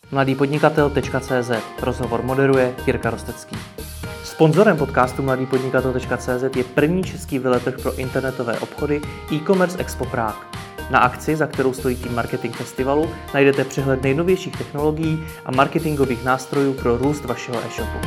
mladýpodnikatel.cz. Rozhovor moderuje Jirka Rostecký. Sponzorem podcastu mladýpodnikatel.cz je první český veletrh pro internetové obchody e-commerce Expo Prague. Na akci, za kterou stojí tým Marketing Festivalu, najdete přehled nejnovějších technologií a marketingových nástrojů pro růst vašeho e-shopu.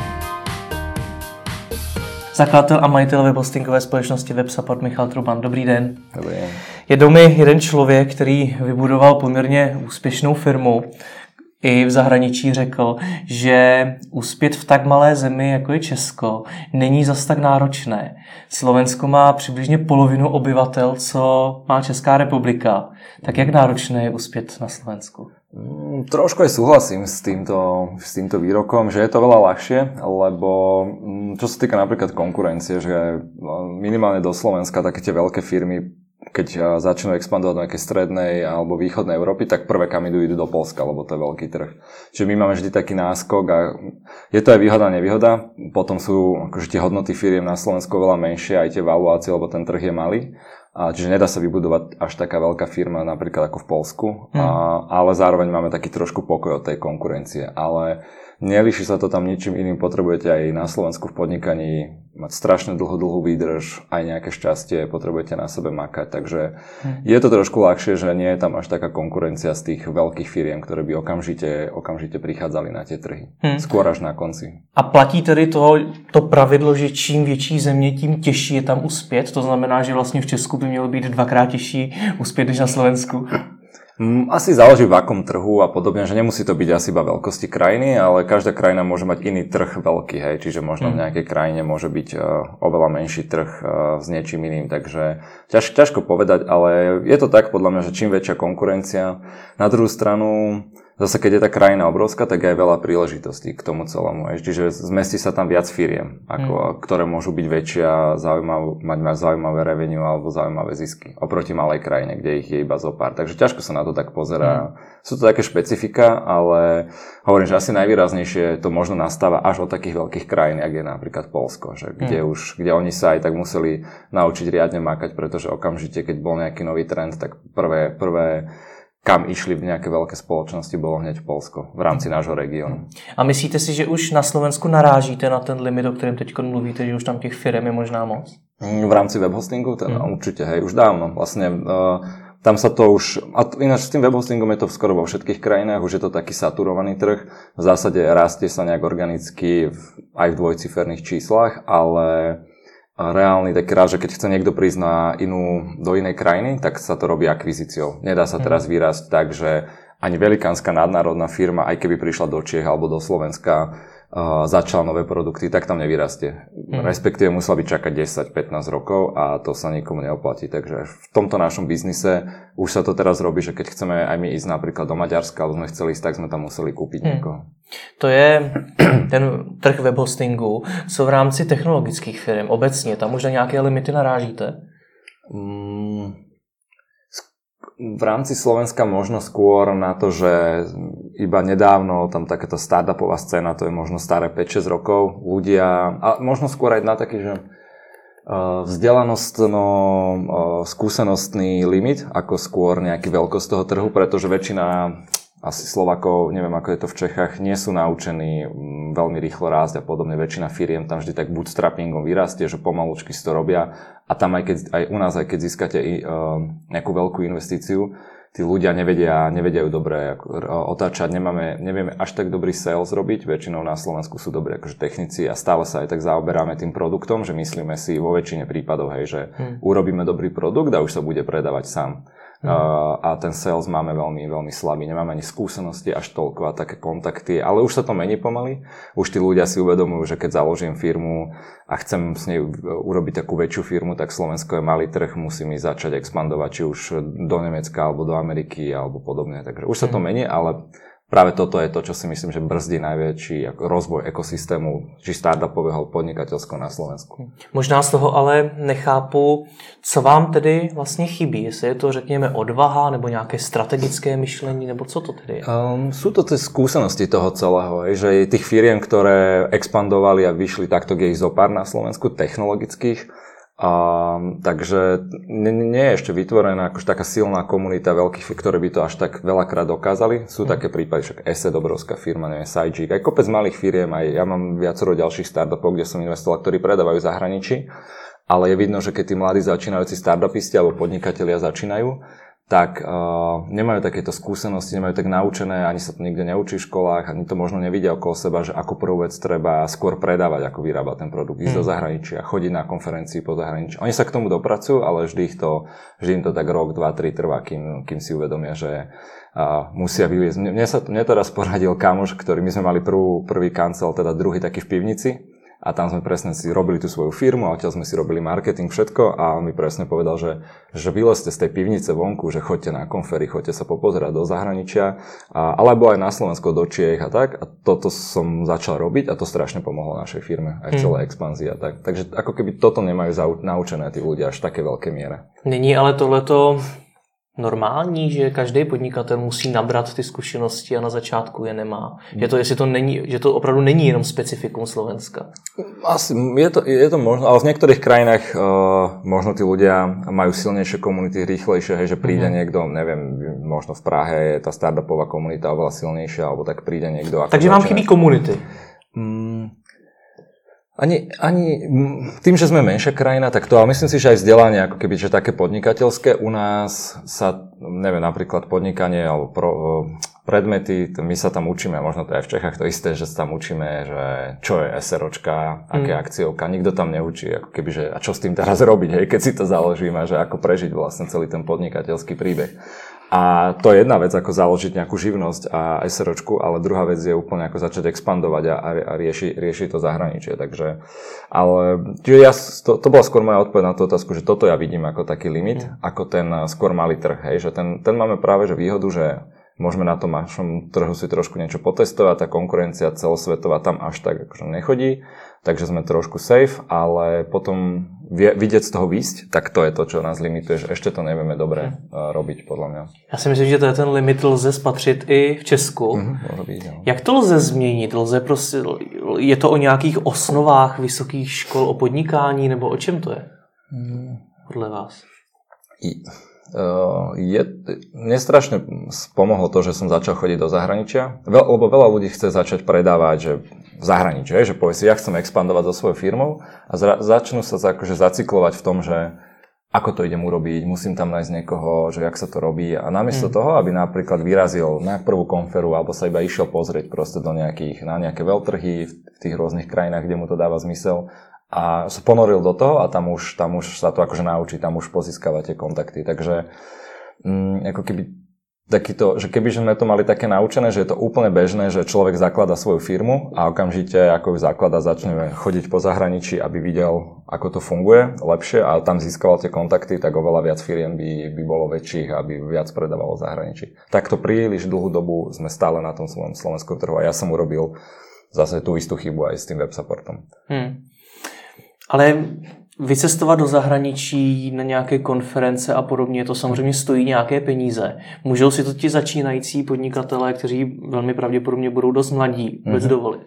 Zakladatel a majitel webhostingové společnosti WebSupport Michal Truban. Dobrý den. Dobrý den. Je domy jeden člověk, který vybudoval poměrně úspěšnou firmu. I v zahraničí řekl, že uspět v tak malé zemi, jako je Česko, není zas tak náročné. Slovensko má přibližně polovinu obyvatel, co má Česká republika. Tak jak náročné je uspět na Slovensku? Trošku aj súhlasím s týmto výrokom, že je to veľa ľahšie, lebo čo sa týka napríklad konkurencie, že minimálne do Slovenska také tie veľké firmy, keď začnú expandovať do nejakej strednej alebo východnej Európy, tak prvé kam idú do Poľska, lebo to je veľký trh. Čiže my máme vždy taký náskok a je to aj výhoda a nevýhoda. Potom sú akože tie hodnoty firiem na Slovensku veľa menšie, aj tie valuácie, lebo ten trh je malý. Čiže nedá sa vybudovať až taká veľká firma napríklad ako v Poľsku, ale zároveň máme taký trošku pokoj od tej konkurencie. Ale nelíši sa to tam ničím iným, potrebujete aj na Slovensku v podnikaní mať strašne dlhú výdrž, aj nejaké šťastie, potrebujete na sebe makať, takže je to trošku ľahšie, že nie je tam až taká konkurencia z tých veľkých firiem, ktoré by okamžite prichádzali na tie trhy. Skôr až na konci. A platí tedy to pravidlo, že čím větší země, tím těžší je tam uspět? To znamená, že vlastně v Česku by mělo být dvakrát těžší uspět než na Slovensku? Asi záleží v akom trhu a podobne, že nemusí to byť asi iba veľkosti krajiny, ale každá krajina môže mať iný trh veľký, hej, čiže možno v nejakej krajine môže byť oveľa menší trh s niečím iným, takže ťažko povedať, ale je to tak podľa mňa, že čím väčšia konkurencia, na druhú stranu zase keď je tá krajina obrovská, tak je aj veľa príležitostí k tomu celému. Čiže zmestí sa tam viac firiem, ktoré môžu byť väčšie a mať zaujímavé revenue alebo zaujímavé zisky. Oproti malej krajine, kde ich je iba zo pár. Takže ťažko sa na to tak pozerá. Sú to také špecifika, ale hovorím, že asi najvýraznejšie to možno nastáva až od takých veľkých krajín, jak je napríklad Poľsko, že kde oni sa aj tak museli naučiť riadne makať, pretože okamžite, keď bol nejaký nový trend, tak prvé kam išli v nejaké veľké spoločnosti, bolo hneď Poľsko v rámci nášho regiónu. A myslíte si, že už na Slovensku narážíte na ten limit, o kterém teď mluvíte, že už tam těch firem je možná moc? V rámci webhostingu? Určite, hej, už dávno. Vlastne tam sa to už, a ináč s tým webhostingom je to skoro vo všetkých krajinách, už je to taký saturovaný trh. V zásade rastie sa nejak organicky aj v dvojciferných číslach, ale reálny taký rád, že keď chce niekto prísť do inej krajiny, tak sa to robí akvizíciou. Nedá sa teraz vyrásť tak, že ani velikánska nadnárodná firma, aj keby prišla do Čiech alebo do Slovenska, začala nové produkty, tak tam nevyrastie. Respektíve musela by čakať 10-15 rokov a to sa nikomu neoplatí. Takže v tomto našom biznise už sa to teraz robí, že keď chceme aj my ísť napríklad do Maďarska, alebo sme chceli ísť, tak sme tam museli kúpiť niekoho. To je ten trh webhostingu. Co v rámci technologických firm obecně? Tam už na nějaké limity narážíte? V rámci Slovenska možno skôr na to, že iba nedávno tam takéto startupová scéna, to je možno staré 5-6 rokov, ľudia, a možno skôr aj na taký, že skúsenostný limit, ako skôr nejaký veľkosť toho trhu, pretože väčšina asi Slovákov, neviem ako je to v Čechách, nie sú naučení veľmi rýchlo rásť a podobne. Väčšina firiem tam vždy tak bootstrappingom vyrastie, že pomalučky si to robia a tam aj u nás, aj keď získate nejakú veľkú investíciu, tí ľudia nevedia ju dobre otáčať, nevieme až tak dobrý sales robiť, väčšinou na Slovensku sú dobrí akože technici a stále sa aj tak zaoberáme tým produktom, že myslíme si vo väčšine prípadov, hej, že urobíme dobrý produkt a už sa bude predávať sám. A ten sales máme veľmi, veľmi slabý. Nemáme ani skúsenosti až toľko a také kontakty, ale už sa to mení pomaly. Už tí ľudia si uvedomujú, že keď založím firmu a chcem s nej urobiť takú väčšiu firmu, tak Slovensko je malý trh, musím ísť začať expandovať, či už do Nemecka, alebo do Ameriky, alebo podobne. Takže už sa to mení, ale práve toto je to, čo si myslím, že brzdí najväčší rozvoj ekosystému, či startupového podnikateľského na Slovensku. Možná z toho ale nechápu, co vám tedy vlastně chybí. Jestli je to, řekněme, odvaha, nebo nějaké strategické myšlení, nebo co to tedy je? Sú to tie skúsenosti toho celého, že tých firiem, ktoré expandovali a vyšli takto, je ich zopár na Slovensku, technologických. Takže nie je ešte vytvorená akože taká silná komunita veľkých, ktoré by to až tak veľakrát dokázali. Sú také prípady, však Asset, obrovská firma, neviem, Sajik, aj kopec malých firiem, aj ja mám viacero ďalších startupov, kde som investoval, ktorí predávajú v zahraničí, ale je vidno, že keď tí mladí začínajúci startupisti alebo podnikatelia začínajú, tak nemajú takéto skúsenosti, nemajú tak naučené, ani sa to nikde neučí v školách, ani to možno nevidia okolo seba, že ako prvú vec treba skôr predávať, ako vyrábať ten produkt, ísť do zahraničia, chodiť na konferencii po zahraničí. Oni sa k tomu dopracujú, ale vždy im to tak rok, 2, 3 trvá, kým si uvedomia, že musia vyviesť. Mne to raz poradil kamoš, ktorý my sme mali prvý kancel, teda druhý taký v pivnici. A tam sme presne si robili tú svoju firmu a odtiaľ sme si robili marketing, všetko a on mi presne povedal, že vylezte z tej pivnice vonku, že choďte na konfery, choďte sa popozerať do zahraničia, alebo aj na Slovensko, do Čiech a tak. A toto som začal robiť a to strašne pomohlo našej firme, aj v celej expanzii a tak. Takže ako keby toto nemajú naučené tí ľudia až v také veľké miere. Není ale tohleto normální, že každý podnikatel musí nabrat ty zkušenosti a na začátku je nemá. Že to opravdu není jenom specifikum Slovenska. Asi je to možno, ale v niektorých krajinách možno tí ľudia majú silnejšie komunity, rýchlejšie, hej, že príde niekto, neviem, možno v Prahe je tá startupová komunita oveľa silnejšia, alebo tak príde niekto. Takže vám chybí komunity? Ani tým, že sme menšia krajina, tak to, ale myslím si, že aj vzdelanie, ako keby, že také podnikateľské u nás sa, neviem, napríklad podnikanie alebo predmety, my sa tam učíme, možno to aj v Čechách to isté, že sa tam učíme, že čo je SROčka, aké akciovka, nikto tam neučí, ako keby, že a čo s tým teraz robiť, hej, keď si to založíme, že ako prežiť vlastne celý ten podnikateľský príbeh. A to je jedna vec, ako založiť nejakú živnosť a SROčku, ale druhá vec je úplne ako začať expandovať a riešiť to zahraničie. Takže, ale to bola skôr moja odpoveď na tú otázku, že toto ja vidím ako taký limit, ako ten skôr malý trh, hej, že ten máme práve že výhodu, že môžeme na tom našom trhu si trošku niečo potestovať, tá konkurencia celosvetová tam až tak akože nechodí, takže sme trošku safe, ale potom vidieť z toho výjsť, tak to je to, čo nás limituje, že ešte to nevieme dobre robiť, podľa mňa. Já si myslím, že ten limit lze spatřit i v Česku. Môže byť, no. Jak to lze změnit? Je to o nějakých osnovách vysokých škol, o podnikání, nebo o čem to je? Podle vás? Mne strašne pomohlo to, že som začal chodiť do zahraničia, lebo veľa ľudí chce začať predávať, že v zahraničí, že povie si, ja chcem expandovať so svojou firmou a začnú sa akože zacyklovať v tom, že ako to idem urobiť, musím tam nájsť niekoho, že jak sa to robí a namiesto toho, aby napríklad vyrazil na prvú konferu alebo sa iba išiel pozrieť proste na nejaké veľtrhy v tých rôznych krajinách, kde mu to dáva zmysel, a sa ponoril do toho a tam už sa to akože naučí, tam už pozískava tie kontakty. Takže ako keby takýto, že keby sme to mali také naučené, že je to úplne bežné, že človek zaklada svoju firmu a okamžite ako ju zaklada začne chodiť po zahraničí, aby videl, ako to funguje lepšie a tam získaval tie kontakty, tak oveľa viac firiem by bolo väčších, aby viac predávalo v zahraničí. Takto príliš dlhú dobu sme stále na tom svojom slovenskom trhu a ja som urobil zase tú istú chybu aj s tým web supportom. Ale vycestovat do zahraničí na nějaké konference a podobně, to samozřejmě stojí nějaké peníze. Můžou si to ti začínající podnikatelé, kteří velmi pravděpodobně budou dost mladí, vůbec dovolit?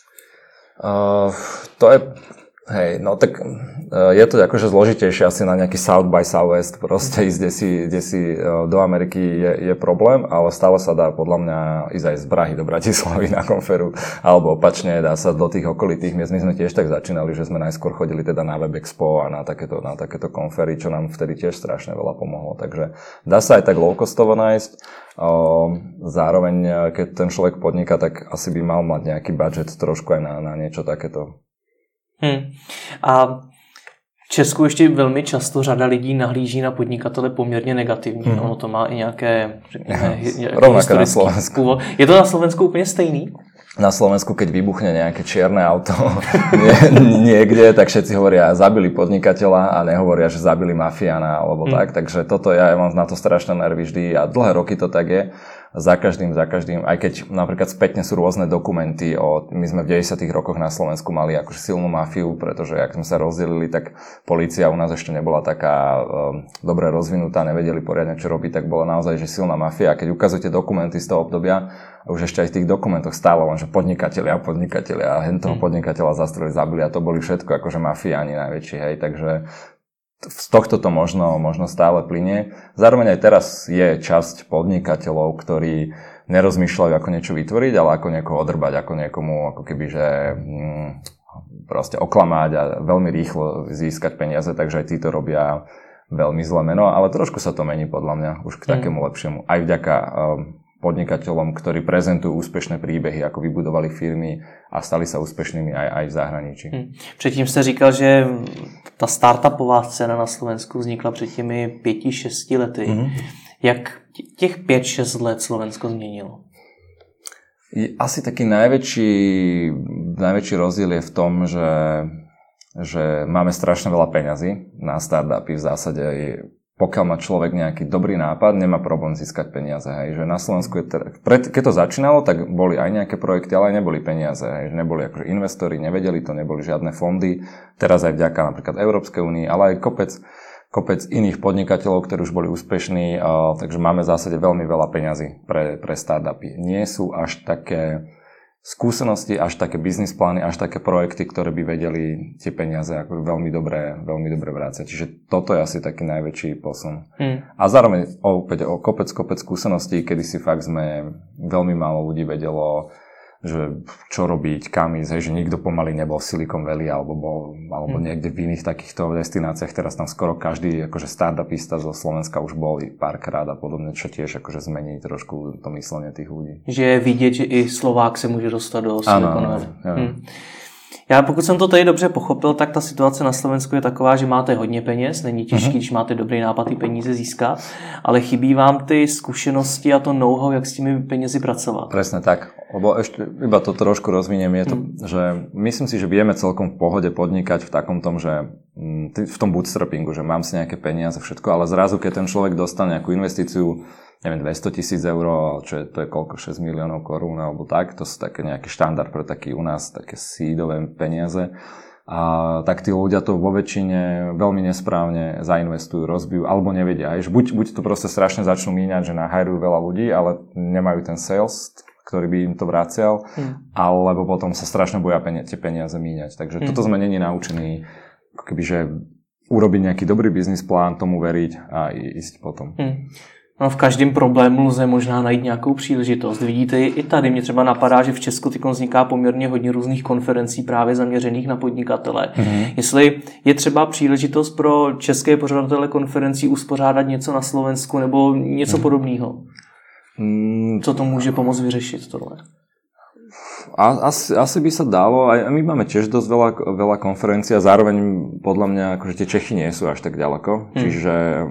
To je... Hej, no tak je to akože zložitejšie asi na nejaký South by Southwest proste ísť, kde si do Ameriky je problém, ale stále sa dá podľa mňa ísť aj z Prahy do Bratislavy na konferu, alebo opačne dá sa do tých okolitých miest. My sme tiež tak začínali, že sme najskôr chodili teda na WebExpo a na takéto konfery, čo nám vtedy tiež strašne veľa pomohlo. Takže dá sa aj tak low-costovo nájsť. Zároveň, keď ten človek podniká, tak asi by mal mať nejaký budget trošku aj na niečo takéto. A v Česku ještě velmi často řada lidí nahlíží na podnikatele poměrně negativně. Ono to má i nějaké historické původ. Je to na Slovensku úplně stejný? Na Slovensku, keď vybuchne nejaké čierne auto niekde, tak všetci hovoria, zabili podnikateľa a nehovoria, že zabili mafiána alebo tak. Takže toto ja mám na to strašné nervy vždy a dlhé roky to tak je. Za každým, aj keď napríklad spätne sú rôzne dokumenty my sme v 90. rokoch na Slovensku mali akože silnú mafiu, pretože ak sme sa rozdelili, tak polícia u nás ešte nebola taká dobre rozvinutá, nevedeli poriadne čo robiť, tak bola naozaj že silná mafia. A keď ukazujete dokumenty z toho obdobia, a už ešte aj v tých dokumentoch stále len, že podnikatelia a hen toho podnikateľa zastrelili, zabili a to boli všetko akože mafiáni najväčší, hej, takže z tohto to možno stále plynie. Zároveň aj teraz je časť podnikateľov, ktorí nerozmýšľajú, ako niečo vytvoriť, ale ako niekoho odrbať, ako niekomu, ako keby, že proste oklamať a veľmi rýchlo získať peniaze, takže aj tí to robia veľmi zle meno, ale trošku sa to mení podľa mňa už k takému lepšiemu. Aj vďaka podnikateľom, ktorí prezentujú úspešné príbehy, ako vybudovali firmy a stali sa úspešnými aj v zahraničí. Předtím jste říkal, že ta startupová scéna na Slovensku vznikla před těmi 5-6 lety. Jak těch 5-6 let Slovensko změnilo? Asi taký najväčší rozdiel je v tom, že máme strašne veľa peňazí na startupy. V zásade pokiaľ má človek nejaký dobrý nápad, nemá problém získať peniaze. Hej. Že na Slovensku keď to začínalo, tak boli aj nejaké projekty, ale aj neboli peniaze. Hej. Že neboli akože investori, nevedeli to, neboli žiadne fondy. Teraz aj vďaka napríklad Európskej únii, ale aj kopec iných podnikateľov, ktorí už boli úspešní, takže máme v zásade veľmi veľa peňazí pre startupy. Nie sú až také skúsenosti, až také business plány, až také projekty, ktoré by vedeli tie peniaze ako veľmi dobre vrácať. Čiže toto je asi taký najväčší posun. A zároveň opäť kopec skúseností, kedy si fakt sme veľmi málo ľudí vedelo, že čo robiť, kam ísť, že nikto pomaly nebol v Silicon Valley alebo niekde v iných takýchto destináciách. Teraz tam skoro každý akože startupista zo Slovenska už bol párkrát a podobne, čo tiež akože zmení trošku to myslenie tých ľudí. Že je vidět, že i Slovák se může dostat do Silicon Valley. Já pokud jsem to tady dobře pochopil, tak ta situace na Slovensku je taková, že máte hodně peněz, není těžký, když máte dobrý nápad ty peníze získat, ale chybí vám ty zkušenosti a to know-how, jak s těmi penězi pracovat. Presne tak, lebo ešte iba to trošku rozviniem, je to, že myslím si, že vieme celkom v pohode podnikať v takom tom, že v tom bootstrappingu, že mám si nejaké peniaze, všetko, ale zrazu, keď ten človek dostane nejakú investíciu, neviem, 200 000 eur, to je koľko, 6 miliónov korún alebo tak, to sú také nejaký štandard pre taký u nás, také seedové peniaze. A tak tí ľudia to vo väčšine veľmi nesprávne zainvestujú, rozbijú, alebo nevedia. Buď to proste strašne začnú míňať, že nahajrujú veľa ľudí, ale nemajú ten sales, ktorý by im to vracial, alebo potom sa strašne boja tie peniaze míňať. Takže toto sme není naučení, ako keby, že urobiť nejaký dobrý biznis plán, tomu veriť a ísť potom. No, v každém problému lze možná najít nějakou příležitost. Vidíte, i tady mě třeba napadá, že v Česku teď vzniká poměrně hodně různých konferencí právě zaměřených na podnikatele. Jestli je třeba příležitost pro české pořadatele konferencí uspořádat něco na Slovensku nebo něco podobného. Co to může pomoct vyřešit tohle? Asi by sa dalo, aj my máme tiež dosť veľa konferencií a zároveň podľa mňa akože tie Čechy nie sú až tak ďaleko, čiže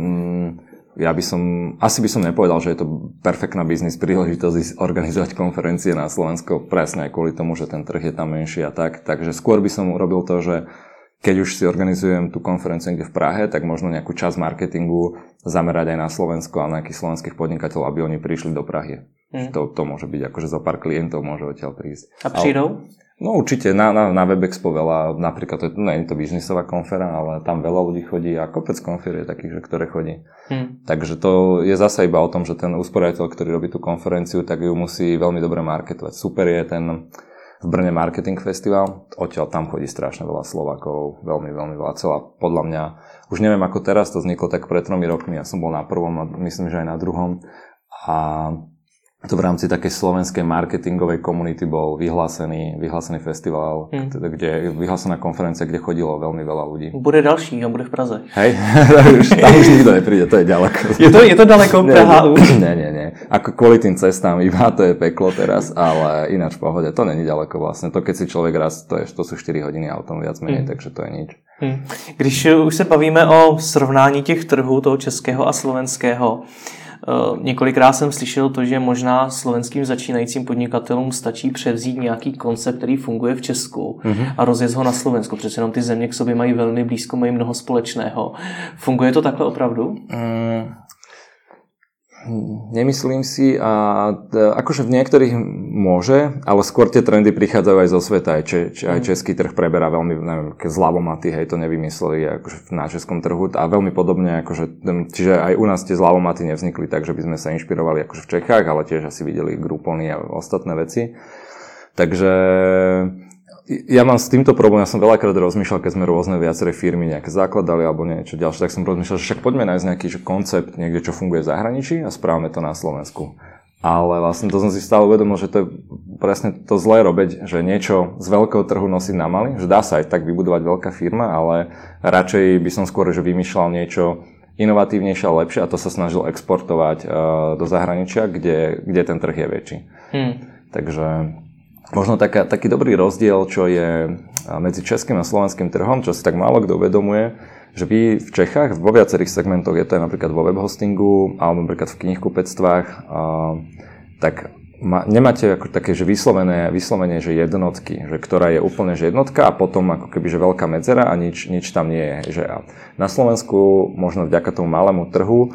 asi by som nepovedal, že je to perfektná biznis príležitosť organizovať konferencie na Slovensko presne aj kvôli tomu, že ten trh je tam menší a tak. Takže skôr by som urobil to, že keď už si organizujem tú konferenciu niekde v Prahe, tak možno nejakú časť marketingu zamerať aj na Slovensko a na nejakých slovenských podnikateľov, aby oni prišli do Prahy. To môže byť akože zo pár klientov môže odtiaľ prísť. A prídou? No určite, na WebExpo veľa, napríklad to nie je to biznisová konfera, ale tam veľa ľudí chodí a kopec konfer je takých, že ktoré chodí. Takže to je zasa iba o tom, že ten usporiadateľ, ktorý robí tú konferenciu, tak ju musí veľmi dobre marketovať. Super je ten v Brne Marketing Festival, odtiaľ tam chodí strašne veľa Slovákov, veľmi, veľmi veľa. Celá, podľa mňa, už neviem ako teraz, to vzniklo tak pred 3 rokmi, ja som bol na prvom a myslím, že aj na druhom. A to v rámci takej slovenskej marketingovej komunity bol vyhlásený festival, kde vyhlásená konferencia, kde chodilo veľmi veľa ľudí. Bude další a bude v Praze. Hej, tam už nikto nepríde, to je ďaleko. Je to daleko Praha už? Nie. Ako kvôli tým cestám iba, to je peklo teraz, ale ináč v pohode, to není ďaleko vlastne. To keď si človek raz, to sú 4 hodiny autom viac menej, takže to je nič. Když už se bavíme o srovnání těch trhů, toho českého a slovenského, několikrát jsem slyšel to, že možná slovenským začínajícím podnikatelům stačí převzít nějaký koncept, který funguje v Česku a rozjet ho na Slovensku. Přece jenom ty země k sobě mají velmi blízko, mají mnoho společného. Funguje to takhle opravdu? Nemyslím si a akože v niektorých môže, ale skôr tie trendy prichádzajú aj zo sveta. Aj český trh preberá veľmi, neviem, zľavomaty, hej, to nevymysleli akože na českom trhu a veľmi podobne, akože, čiže aj u nás tie zľavomaty nevznikli tak, že by sme sa inšpirovali akože v Čechách, ale tiež asi videli Groupony a ostatné veci. Takže Ja mám s týmto problém, ja som veľakrát rozmýšľal, keď sme rôzne viaceré firmy nejaké zakladali alebo niečo ďalšie, tak som rozmýšľal, že však poďme nájsť nejaký koncept niekde, čo funguje v zahraničí a správame to na Slovensku. Ale vlastne to som si stále uvedomil, že to je presne to zlé robiť, že niečo z veľkého trhu nosiť na malý, že dá sa aj tak vybudovať veľká firma, ale radšej by som skôr že vymýšľal niečo inovatívnejšie a lepšie a to sa snažil exportovať do zahraničia, kde ten trh je väčší. Takže možno taký dobrý rozdiel, čo je medzi českým a slovenským trhom, čo si tak málo kto uvedomuje, že vy v Čechách vo viacerých segmentoch, je to aj napríklad vo webhostingu alebo napríklad v knihkupectvách, tak nemáte ako také, že vyslovene, že jednotky, že ktorá je úplne že jednotka a potom ako keby, že veľká medzera a nič tam nie je. Že na Slovensku možno vďaka tomu malému trhu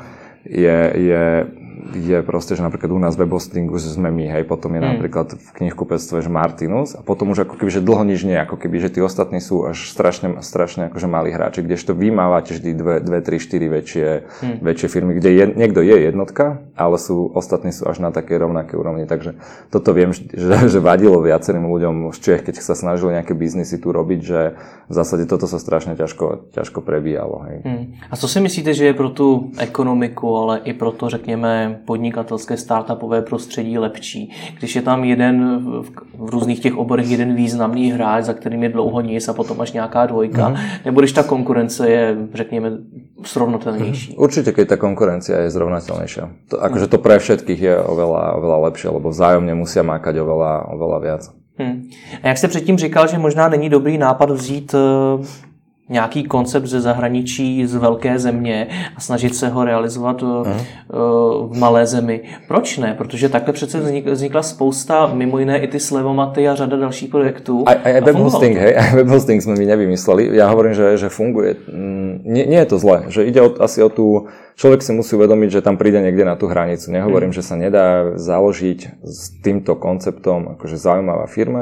je proste, že napríklad u nás v webhostingu sme my, hej, potom je napríklad v knihkupectve, že Martinus a potom už ako keby, že dlho nič nie, ako keby, že tí ostatní sú až strašne akože malí hráči, kdežto vy mávate vždy 2, 3, 4 väčšie firmy, kde niekto je jednotka, ale ostatní sú až na takej rovnakej úrovni, takže toto viem, že vadilo viacerým ľuďom z Čech, keď sa snažili nejaké biznisy tu robiť, že v zásade toto sa strašne ťažko prebíjalo, hej. A co si myslíte, že je pro tu ekonomiku, ale i pro to, řekněme, podnikatelské startupové prostředí lepší. Když je tam jeden v různých těch oborech jeden významný hráč, za kterým je dlouho nic a potom až nějaká dvojka, nebo když ta konkurence je, řekněme, srovnatelnější. Určite, keď tá konkurencia je zrovnateľnejšia. Akože to pre všetkých je oveľa lepšie, lebo vzájomne musia mákať oveľa viac. A jak jste předtím říkal, že možná není dobrý nápad vzít nějaký koncept ze zahraničí, z velké země a snažit se ho realizovat v malé zemi. Proč ne? Protože takhle přece vznikla spousta, mimo jiné i ty Slevomaty a řada dalších projektů. Aj webhosting, hej, aj webhosting sme my nevymysleli. Ja hovorím, že funguje. Nie je to zle, že ide asi o tú... Človek si musí uvedomiť, že tam príde niekde na tú hranicu. Nehovorím, že sa nedá založiť s týmto konceptom akože zaujímavá firma,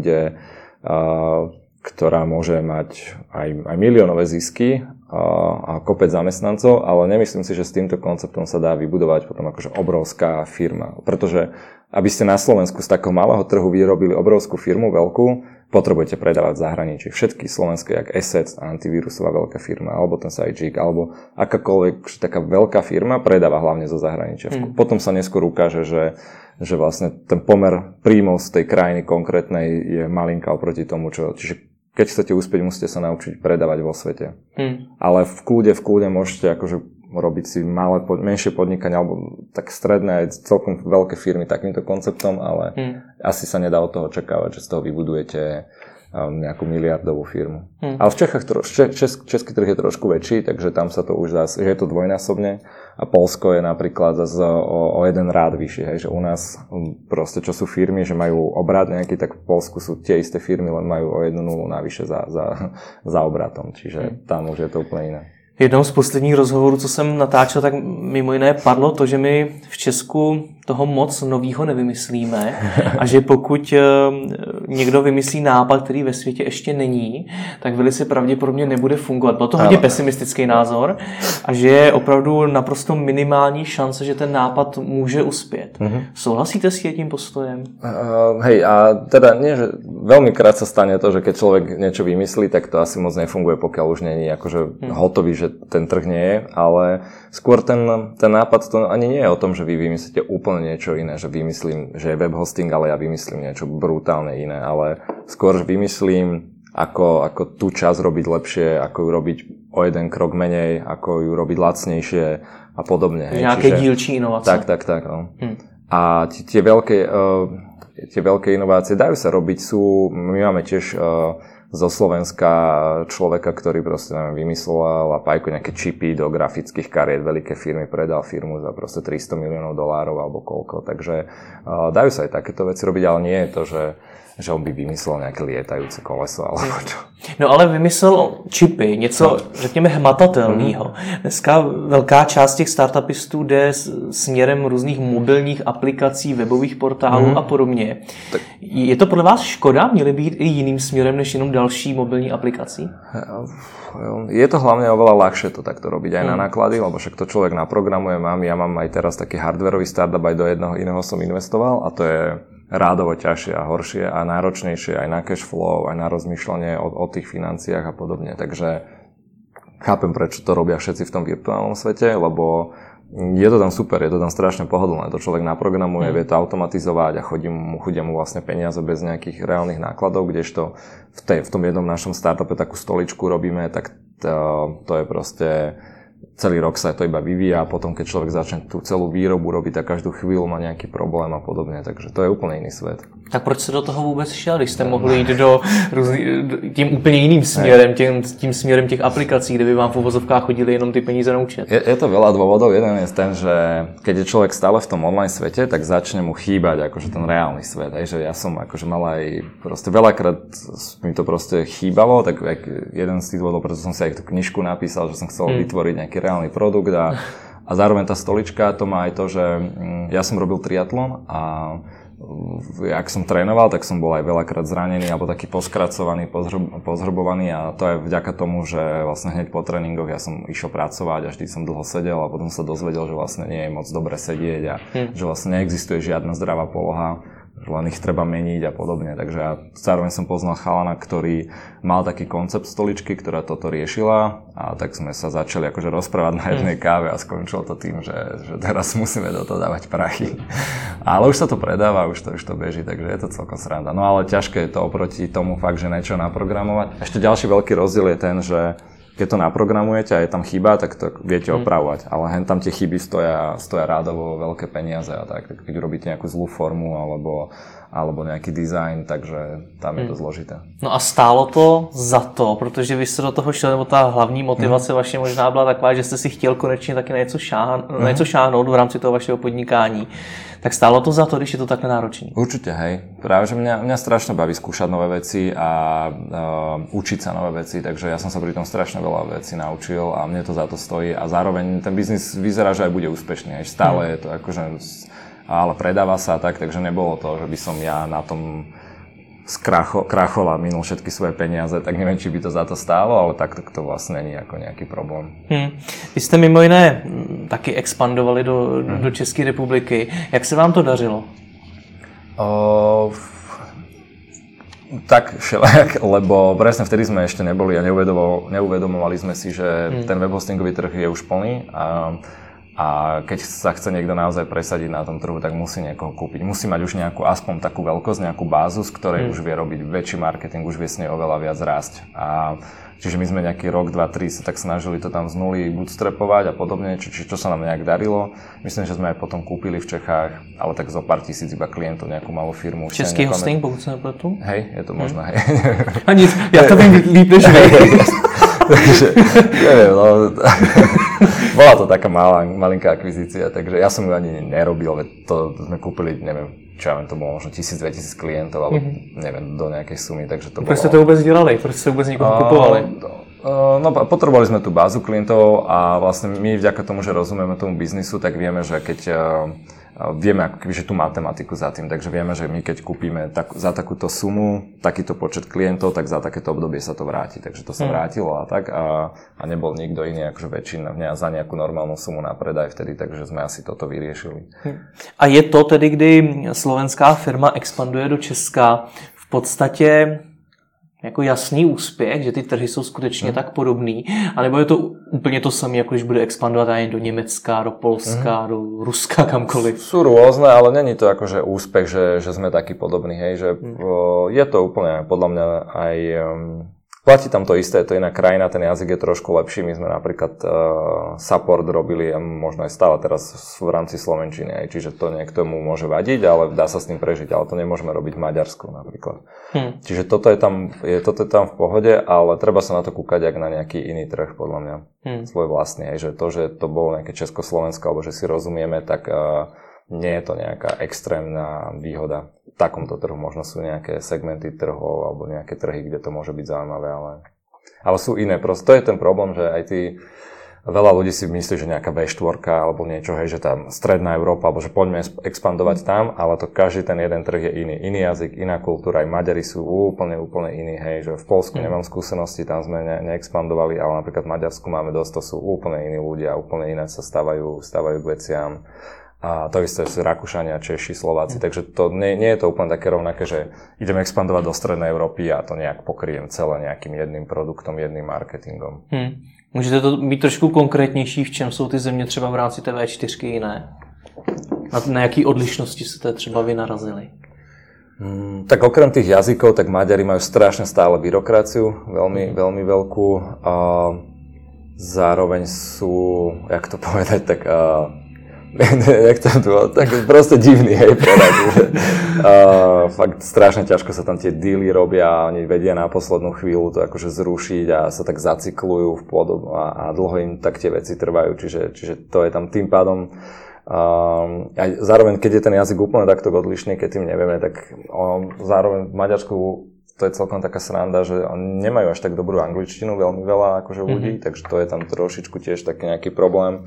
ktorá môže mať aj miliónové zisky a kopec zamestnancov, ale nemyslím si, že s týmto konceptom sa dá vybudovať potom akože obrovská firma. Pretože aby ste na Slovensku z takého malého trhu vyrobili obrovskú firmu, veľkú, potrebujete predávať v zahraničí. Všetky slovenské, jak Assets, antivírusová veľká firma, alebo ten Sajik, alebo akákoľvek taká veľká firma predáva hlavne zo zahraničia. Potom sa neskôr ukáže, že vlastne ten pomer príjmov z tej krajiny konkrétnej je malinká oproti tomu, čiže keď chcete uspieť, musíte sa naučiť predávať vo svete. Ale v kľude môžete akože robiť si menšie podnikania alebo tak stredné aj celkom veľké firmy takýmto konceptom, ale asi sa nedá od toho očakávať, že z toho vybudujete nejakú miliardovú firmu. Ale v Čechách český trh je trošku väčší, takže tam sa to už dá, že je to dvojnásobne a Poľsko je napríklad o jeden rád vyššie, hej, že u nás proste čo sú firmy, že majú obrat nejaký, tak v Poľsku sú tie isté firmy, len majú o 1 nulu navyše za obratom, čiže tam už je to úplne iné. V jednom z posledních rozhovorů, co jsem natáčel, tak mimo jiné padlo to, že my v Česku toho moc novýho nevymyslíme a že pokud někdo vymyslí nápad, který ve světě ještě není, tak velice pravděpodobně nebude fungovat. Byl to hodně pesimistický názor a že je opravdu naprosto minimální šance, že ten nápad může uspět. Souhlasíte s tím postojem? Hej, a teda nie, že veľmi krát sa stane to, že keď človek niečo vymyslí, tak to asi moc nefunguje, pokiaľ už nie je akože hotový, že ten trh nie je, ale skôr ten nápad to ani nie je o tom, že vy vymyslíte úplne niečo iné, že vymyslím, že je web hosting, ale ja vymyslím niečo brutálne iné, ale skôr vymyslím, ako tú časť robiť lepšie, ako ju robiť o jeden krok menej, ako ju robiť lacnejšie a podobne. Nejaké dílčí inovácie. Tak. No. A tie veľké inovácie dajú sa robiť, my máme tiež zo Slovenska človeka, ktorý proste vymyslel a pajko nejaké čipy do grafických kariet, veľké firmy, predal firmu za proste $300 miliónov alebo koľko. Takže dajú sa aj takéto veci robiť, ale nie je to, že on by vymyslel nejaké lietajúce koleso alebo čo. No ale vymyslel čipy, něco, řekněme, hmatatelného. Dneska velká část těch startupistů jde směrem různých mobilních aplikací, webových portálů a podobně. Tak. Je to podle vás škoda? Měly být i jiným směrem než jenom další mobilní aplikací? Je to hlavne oveľa ľahšie to takto robiť aj na náklady, lebo však to človek naprogramuje, ja mám aj teraz taký hardwareový startup, aj do jedného iného som investoval a to je rádovo ťažšie a horšie a náročnejšie aj na cash flow, aj na rozmýšľanie o tých financiách a podobne. Takže chápem, prečo to robia všetci v tom virtuálnom svete, lebo je to tam super, je to tam strašne pohodlné. To človek naprogramuje, vie to automatizovať a chudia mu vlastne peniaze bez nejakých reálnych nákladov, kdežto v tom jednom našom startupe takú stoličku robíme, tak to je proste celý rok sa to iba vyvíja a potom, keď človek začne tú celú výrobu robiť, tak každú chvíľu má nejaký problém a podobne, takže to je úplne iný svet. Tak proč jste do toho vůbec šel, když jste mohli jít tím úplně jiným směrem, tím směrem těch aplikací, kde by vám v uvozovkách chodili jenom ty peníze na účet? Je to veľa dôvodov. Jeden je ten, že keď je človek stále v tom online svete, tak začne mu chýbať akože ten reálny svet. Aj, že ja som akože mal aj proste veľakrát mi to proste chýbalo, tak jeden z tých dôvodov, preto som si aj tú knižku napísal, že som chcel vytvoriť nejaký reálny produkt a zároveň tá stolička to má aj to, že ja som robil triatlon a ak som trénoval, tak som bol aj veľakrát zranený alebo taký poskracovaný, pozhrbovaný a to je vďaka tomu, že vlastne hneď po tréningoch ja som išiel pracovať a vždy som dlho sedel a potom sa dozvedel, že vlastne nie je moc dobre sedieť a že vlastne neexistuje žiadna zdravá poloha, že len ich treba meniť a podobne. Takže ja zároveň som poznal chalana, ktorý mal taký koncept stoličky, ktorá toto riešila a tak sme sa začali akože rozprávať na jednej káve a skončilo to tým, že teraz musíme do toho dávať prachy. Ale už sa to predáva, už to beží, takže je to celkom sranda. No ale ťažké je to oproti tomu fakt, že niečo naprogramovať. Ešte ďalší veľký rozdiel je ten, že keď to naprogramujete a je tam chyba, tak to viete opravovať. Ale hen tam tie chyby stoja rádovo veľké peniaze a tak. Keď urobíte nejakú zlú formu alebo nejaký design, takže tam je to zložité. No a stálo to za to, protože vy jste do toho šli, nebo ta hlavní motivace vaše možná byla taková, že jste si chtěl konečně taky na něco šáhnout v rámci toho vašeho podnikání. Tak stálo to za to, když je to takhle náročné? Určite, hej. Práve, že mňa strašne baví skúšať nové veci a učiť sa nové veci, takže ja som sa pri tom strašne veľa vecí naučil a mne to za to stojí a zároveň ten biznis vyzerá, že aj bude úspešný. Aj stále je to akože, ale predáva sa tak, takže nebolo to, že by som ja na tom krachol a minul všetky svoje peniaze, tak neviem, či by to za to stálo, ale tak to vlastne není ako nejaký problém. Vy jste mimo jiné taky expandovali do České republiky. Jak se vám to dařilo? Tak všelijak, lebo presne vtedy sme ešte neboli a neuvedomovali sme si, že ten webhostingový trh je už plný a keď sa chce niekto naozaj presadiť na tom trhu, tak musí niekoho kúpiť. Musí mať už nejakú, aspoň takú veľkosť, nejakú bázu, z ktorej už vie robiť väčší marketing, už vie s nej oveľa viac rásť. Čiže my sme nejaký rok, 2, 3 sa tak snažili to tam z nuly bootstrapovať a podobne, čo sa nám nejak darilo. Myslím, že sme aj potom kúpili v Čechách, ale tak zo pár tisíc iba klientov, nejakú malú firmu. Český hosting, pokud sa nepletu? Hej, je to možno, hej. A nic, ja to viem líp než vy. Takže, neviem, no, bola to taká malinká akvizícia, takže ja som ju ani nerobil, veď to sme kúpili, neviem, čo ja viem, to bolo možno 1000-2000 klientov, alebo neviem, do nejakej sumy, takže to bolo... Proč ste to vôbec dělali? Proč ste vôbec niekoho kupovali? No, potrebovali sme tú bázu klientov a vlastne my vďaka tomu, že rozumieme tomu biznisu, tak vieme, že keď vieme ako keby, že tú matematiku za tým, takže vieme, že my keď kúpime za takúto sumu, takýto počet klientov, tak za takéto obdobie sa to vráti. Takže to sa vrátilo a tak a nebol nikto iný akože väčšina za nejakú normálnu sumu na predaj vtedy, takže sme asi toto vyriešili. A je to tedy, kdy slovenská firma expanduje do Česka v podstatě jako jasný úspěch, že ty trhy jsou skutečně tak podobný, anebo je to úplně to samé, jako když bude expandovat aj do Německa, do Polska, do Ruska, kamkoliv? Sú rôzne, ale není to akože úspech, že sme takí podobní, hej, že je to úplne podľa mňa aj platí tam to isté, je to iná krajina, ten jazyk je trošku lepší, my sme napríklad support robili a možno aj stále teraz v rámci slovenčiny, aj, čiže to niektomu môže vadiť, ale dá sa s tým prežiť, ale to nemôžeme robiť v Maďarsku napríklad. Čiže toto je tam v pohode, ale treba sa na to kúkať jak na nejaký iný trh, podľa mňa, svoj vlastný, aj, že to bolo nejaké Československo, alebo že si rozumieme, tak nie je to nejaká extrémna výhoda. V takomto trhu možno sú nejaké segmenty trhov alebo nejaké trhy, kde to môže byť zaujímavé, ale sú iné. Proste to je ten problém, že aj veľa ľudí si myslí, že nejaká V4 alebo niečo, hej, že tam stredná Európa, alebo že poďme expandovať tam, ale to každý ten jeden trh je iný. Iný jazyk, iná kultúra, aj Maďari sú úplne iní, hej, že v Poľsku nemám skúsenosti, tam sme neexpandovali, ale napríklad v Maďarsku máme dosť, to sú úplne iní ľudia, úplne iné sa stávajú k veciam. A to isté sú Rakúšania, Češi, Slováci, takže to nie je to úplne také rovnaké, že ideme expandovať do strednej Európy a to nejak pokryjem celé nejakým jedným produktom, jedným marketingom. Můžete to být trošku konkrétnější, v čem jsou ty země třeba v rámci té V4 jiné? Na jaký odlišnosti ste třeba vy narazili? Tak okrem tých jazykov, tak Maďari majú strašne stále byrokraciu, veľmi veľkú. A zároveň sú, jak to povedať, tak tak proste divný, hej, povedať, že fakt strašne ťažko sa tam tie dealy robia, oni vedia na poslednú chvíľu to akože zrušiť a sa tak zacyklujú v podobu a dlho im tak tie veci trvajú, čiže to je tam tým pádom. A zároveň, keď je ten jazyk úplne takto odlišný, keď tým nevieme, tak zároveň v Maďarsku to je celkom taká sranda, že oni nemajú až tak dobrú angličtinu, veľmi veľa akože ľudí, takže to je tam trošičku tiež taký nejaký problém.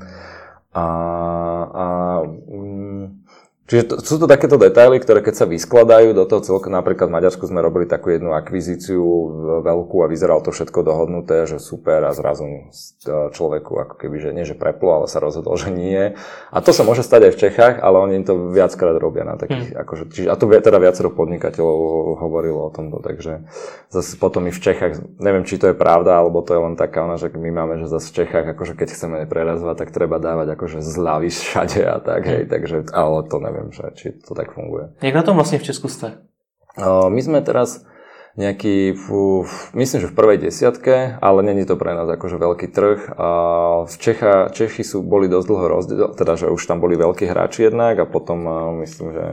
Čiže sú to takéto detaily, ktoré keď sa vyskladajú do toho celku, napríklad v Maďarsku sme robili takú jednu akvizíciu veľkú a vyzeralo to všetko dohodnuté, že super a zrazu človeku ako keby, že nie že preplo, ale sa rozhodol, že nie. A to sa môže stať aj v Čechách, ale oni to viackrát robia na takých, akože, čiže, a to teda viacero podnikateľov hovorilo o tomto, takže zase potom i v Čechách, neviem, či to je pravda, alebo to je len taká ona, že my máme, že zase v Čechách, akože keď chceme prerazovať, tak treba dávať akože zľavy všade a tak, hej, takže, ale to neviem, či to tak funguje. Jak na tom vlastne v Česku ste? My sme teraz nejaký, myslím, že v prvej desiatke, ale není to pre nás akože veľký trh. Čechy boli dosť dlho rozdiel, teda, že už tam boli veľkí hráči jednak a potom myslím, že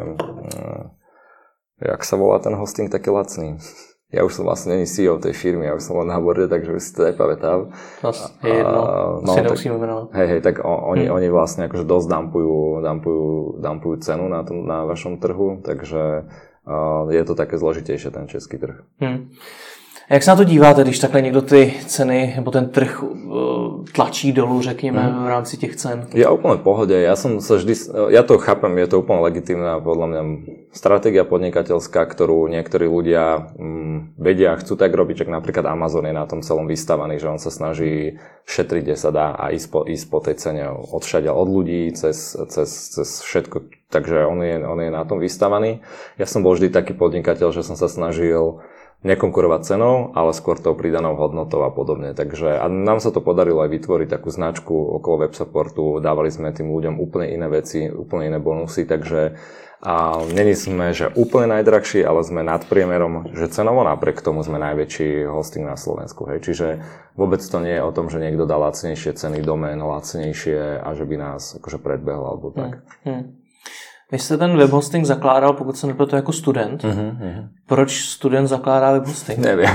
jak sa volá ten hosting taký lacný? Ja už som vlastne není CEO tej firmy, ja už som len na borde, takže už si to nepamätám. Je jedno, si nemusíme menovať. Hej, tak oni vlastne akože dosť dumpujú cenu na vašom trhu, takže je to také zložitejšie ten český trh. A jak se na to díváte, když takhle někdo ty ceny nebo ten trh tlačí dolů, řekněme, v rámci těch cen? Ja úplne v pohode. Ja to chápem, je to úplne legitímna podľa mňa stratégia podnikateľská, ktorú niektorí ľudia vedia a chcú tak robiť, že napríklad Amazon je na tom celom vystavaný, že on sa snaží šetriť, kde sa dá a ísť po tej cene odšade od ľudí cez všetko. Takže on je na tom vystavaný. Ja som bol vždy taký podnikateľ, že som sa snažil nekonkurovať cenou, ale skôr tou pridanou hodnotou a podobne. Takže a nám sa to podarilo aj vytvoriť takú značku okolo web supportu, dávali sme tým ľuďom úplne iné veci, úplne iné bonusy, takže není sme, že úplne najdrahší, ale sme nad priemerom, že cenovo napriek tomu sme najväčší hosting na Slovensku. Hej. Čiže vôbec to nie je o tom, že niekto dá lacnejšie ceny domén, lacnejšie a že by nás akože predbehol alebo tak. Vy jste ten webhosting zakládal, pokud se nepletu, jako student. Proč student zakládá webhosting? Neviem.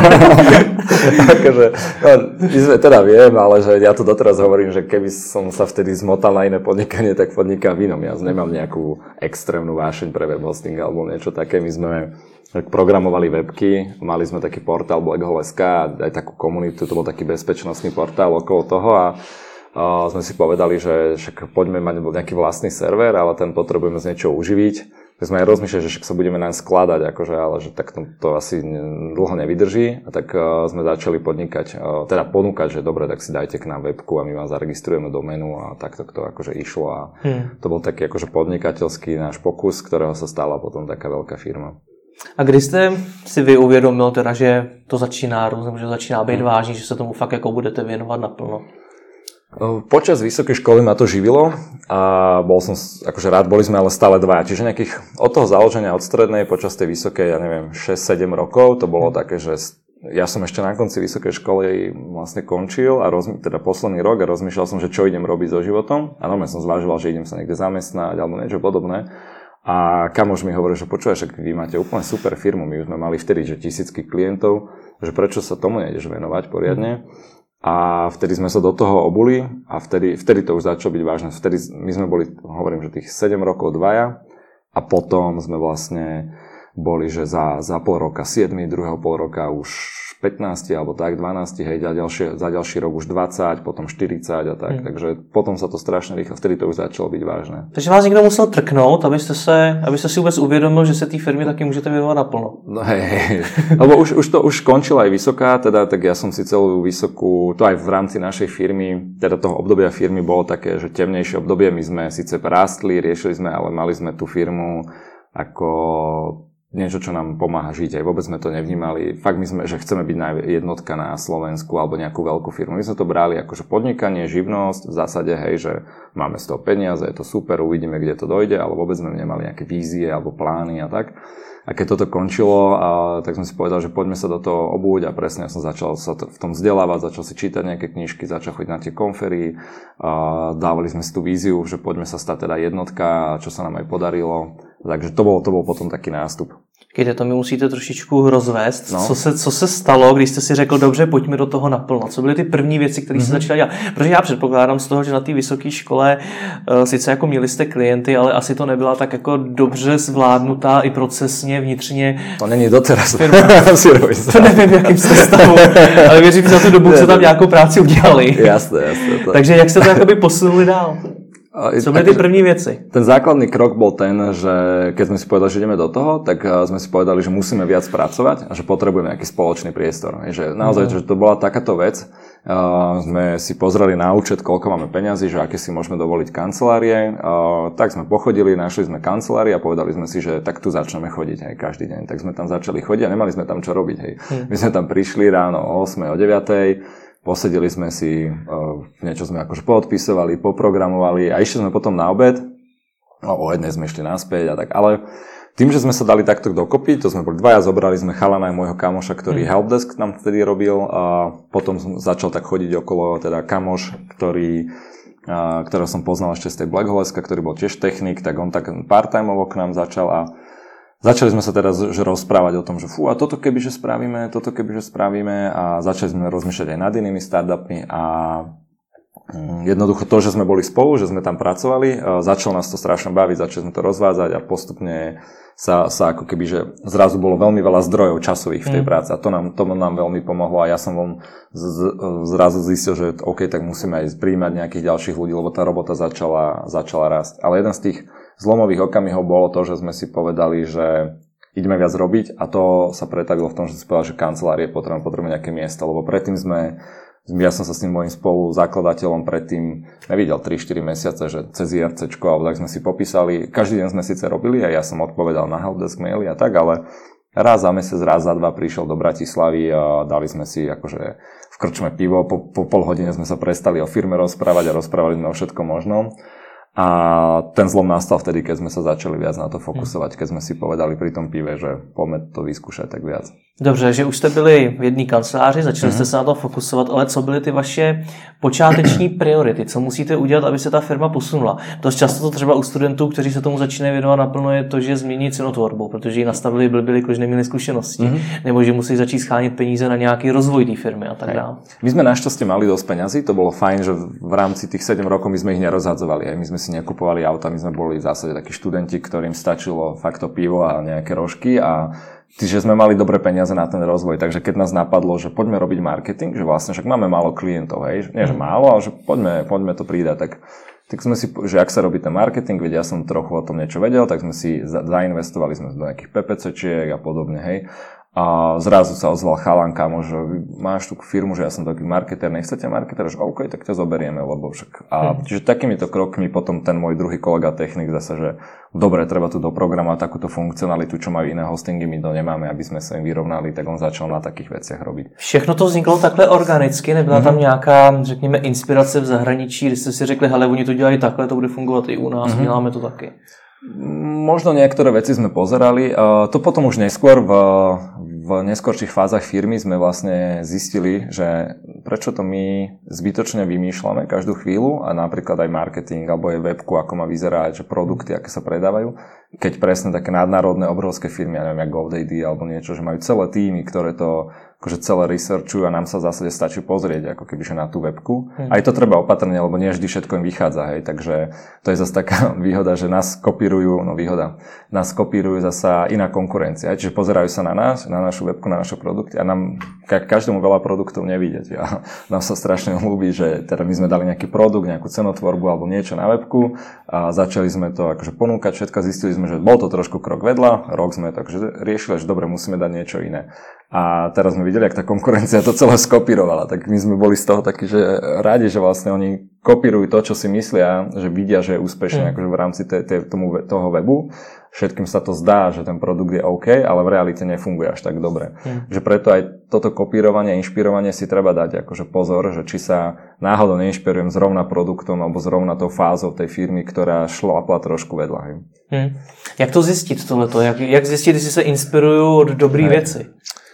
Akože, teda viem, ale že ja to doteraz hovorím, že keby som sa vtedy zmotal na iné podnikanie, tak podnikám v inom. Ja nemám nejakú extrémnu vášeň pre webhosting alebo niečo také. My sme programovali webky, mali sme taký portál blackhole.sk a aj takú komunitu, to bol taký bezpečnostný portál okolo toho a sme si povedali, že však poďme mať nejaký vlastný server, ale ten potrebujeme z niečoho uživiť. My sme aj rozmýšľali, že však sa budeme naň skladať, akože, ale že tak to asi dlho nevydrží. A tak sme začali ponúkať, že dobre, tak si dajte k nám webku a my vám zaregistrujeme doménu a takto to akože išlo. A to bol taký akože podnikateľský náš pokus, z ktorého sa stala potom taká veľká firma. A kdy jste si vy uvědomil teda, že to začíná různě, že začíná být vážný, že se tomu fakt jako budete věnovat naplno? Počas vysokej školy ma to živilo a bol som akože rád, boli sme ale stále dvaja, čiže nejakých od toho založenia od strednej počas tej vysokej, ja neviem, 6-7 rokov, to bolo také, že ja som ešte na konci vysokej školy vlastne končil a teda posledný rok a rozmýšľal som, že čo idem robiť so životom a normálne som zvažoval, že idem sa niekde zamestnať alebo niečo podobné a kamoš mi hovorí, že počúvaj, však vy máte úplne super firmu, my už sme mali vtedy, že tisícky klientov, že prečo sa tomu nejdeš venovať poriadne. A vtedy sme sa do toho obuli a vtedy to už začalo byť vážne. Vtedy my sme boli, hovorím, že tých 7 rokov dvaja a potom sme vlastne boli, že za pol roka 7, druhého pol roka už 15 alebo tak, 12, hej, za ďalší rok už 20, potom 40 a tak. Takže potom sa to strašne rýchlo, vtedy to už začalo byť vážne. Takže vás někdo musel trknout, abyste si vůbec uvědomil, že se té firmě taky můžete věnovat naplno. No hej. Lebo už končila aj vysoká, teda tak ja som si celú vysokú, to aj v rámci našej firmy, teda toho obdobia firmy bolo také, že temnejšie obdobie, my sme síce rástli, riešili sme, ale mali sme tú firmu ako niečo, čo nám pomáha žiť. Aj vôbec sme to nevnímali. Fakt my sme, že chceme byť jednotka na Slovensku alebo nejakú veľkú firmu. My sme to brali ako že podnikanie, živnosť, v zásade, hej, že máme z toho peniaze, je to super, uvidíme, kde to dojde, ale vôbec sme nemali nejaké vízie alebo plány a tak. A keď toto končilo, tak som si povedal, že poďme sa do toho obúť a presne ja som začal sa v tom vzdelávať, začal si čítať nejaké knižky, začal chodiť na tie konfery, dávali sme si tú víziu, že poďme sa stať teda jednotka, čo sa nám aj podarilo. Takže to bol potom taký nástup. Kejte, to mi musíte trošičku rozvést. No. Co se stalo, když jste si řekl, dobře, pojďme do toho naplno? Co byly ty první věci, které se začaly dělat? Protože já předpokládám z toho, že na té vysoké škole sice jako měli jste klienty, ale asi to nebyla tak jako dobře zvládnutá i procesně, vnitřně. To není doteraz. To nevím, jakým jste stavu, ale věřím, že za tu dobu se tam nějakou práci udělali. Jasné. Takže jak jste to jakoby posunuli dál? Co byly ty první věci? Ten základný krok bol ten, že keď sme si povedali, že ideme do toho, tak sme si povedali, že musíme viac pracovať a že potrebujeme nejaký spoločný priestor. Že naozaj, že to bola takáto vec. Sme si pozreli na účet, koľko máme peňazí, že aké si môžeme dovoliť kancelárie. Tak sme pochodili, našli sme kancelárie a povedali sme si, že tak tu začneme chodiť aj každý deň. Tak sme tam začali chodiť a nemali sme tam čo robiť. Hej. My sme tam prišli ráno o 8, o 9. Posedeli sme si, niečo sme akože poodpisovali, poprogramovali a išli sme potom na obed. O jednej sme išli naspäť a tak, ale tým, že sme sa dali takto dokopy, to sme boli dvaja, zobrali sme chalana aj môjho kamoša, ktorý helpdesk nám vtedy robil a potom začal tak chodiť okolo teda kamoš, ktorého som poznal ešte z tej Black Holeska, ktorý bol tiež technik, tak on tak part-timeovo k nám začal a začali sme sa teraz rozprávať o tom, že a toto kebyže spravíme a začali sme rozmýšľať aj nad inými startupmi a jednoducho to, že sme boli spolu, že sme tam pracovali, začalo nás to strašne baviť, začali sme to rozvádzať a postupne sa ako keby, že zrazu bolo veľmi veľa zdrojov časových v tej práci a to nám veľmi pomohlo a ja som zrazu zistil, že OK, tak musíme aj prijímať nejakých ďalších ľudí, lebo tá robota začala rásť. Ale jeden z tých zlomových okamihov bolo to, že sme si povedali, že ideme viac robiť a to sa pretavilo v tom, že si povedal, že kancelárie potrebujeme nejaké miesto, lebo predtým ja som sa s tým mojím spoluzakladateľom predtým nevidel 3-4 mesiace, že cez IRCčko, alebo tak sme si popísali, každý deň sme síce robili a ja som odpovedal na helpdesk maily a tak, ale raz za mesiac, raz za dva prišiel do Bratislavy a dali sme si akože v krčme pivo, po pol hodine sme sa prestali o firme rozprávať a rozprávali sme o všetkom možnom. A ten zlom nastal vtedy, keď sme sa začali viac na to fokusovať, keď sme si povedali pri tom pive, že poďme to vyskúšať tak viac. Dobře, že už jste byli v jedné kanceláři, začali jste se na to fokusovat, ale co byly ty vaše počáteční priority? Co musíte udělat, aby se ta firma posunula? Dost často to třeba u studentů, kteří se tomu začínají věnovat naplno, je to, že změní cenotvorbu, protože ji nastavili blbili, když neměli zkušenosti, nebo že musí začít schánět peníze na nějaký rozvoj té firmy a tak dále. My sme našťastie mali dosť peňazí, to bolo fajn, že v rámci tých 7 rokov my sme ich nerozhadzovali, my sme si nekupovali auta, my sme boli v zásade takí študenti, ktorým stačilo fakt to pivo a nejaké rožky a že sme mali dobré peniaze na ten rozvoj, takže keď nás napadlo, že poďme robiť marketing, že vlastne však máme málo klientov, hej, nie že málo, ale že poďme to pridať, tak sme si, že ak sa robí ten marketing, veď ja som trochu o tom niečo vedel, tak sme si zainvestovali sme do nejakých PPCčiek a podobne, hej. A zrazu sa ozval chalan, kámo, že máš tú firmu, že ja som taký marketer, nechcete marketer? Že OK, tak ťa zoberieme, lebo však... A čiže takýmito krokmi potom ten môj druhý kolega technik zase, že dobre, treba tu doprogramovať takúto funkcionalitu, čo majú iné hostingy, my to nemáme, aby sme sa im vyrovnali, tak on začal na takých veciach robiť. Všechno to vzniklo takhle organicky, nebyla tam nějaká, řekněme, inspirace v zahraničí, když ste si řekli, hele, oni to dělají takhle, to bude fungovat i u nás, děláme to taky. Možno niektoré veci sme pozerali. To potom už neskôr v neskorších fázach firmy sme vlastne zistili, že prečo to my zbytočne vymýšľame každú chvíľu a napríklad aj marketing alebo aj webku, ako má vyzerať, že produkty, aké sa predávajú. keď presne také nadnárodné obrovské firmy, ja neviem, jak GoDaddy alebo niečo, že majú celé týmy, ktoré to akože celé researchujú a nám sa v zásade stačí pozrieť ako kebyže na tú webku. Aj to treba opatrne, lebo nie vždy všetko im vychádza, hej, takže to je zase taká výhoda, že nás kopírujú zasa iná konkurencia, čiže pozerajú sa na nás, na našu webku, na naše produkty a nám každému veľa produktov nevidieť. A nám sa strašne ľúbi, že teda my sme dali nejaký produkt, nejakú cenotvorbu alebo niečo na webku a začali sme to akože ponúkať všetko, zistili sme, že bol to trošku krok vedľa, rok sme to akože riešili, že dobre, musíme dať niečo iné. A teraz sme videli, jak tá konkurencia to celé skopírovala, tak my sme boli z toho takí, že rádi, že vlastne oni kopírujú to, čo si myslia, že vidia, že je úspešné akože v rámci toho webu. Všetkým sa to zdá, že ten produkt je OK, ale v realite nefunguje až tak dobre. Že preto aj toto kopírovanie, inšpirovanie si treba dať akože pozor, že či sa náhodou neinšpirujem zrovna produktom alebo zrovna tou fázou tej firmy, ktorá šlápla trošku vedľa. Jak to zjistit tohleto? Jak zjistit, jestli se inspirujú od dobrý věci?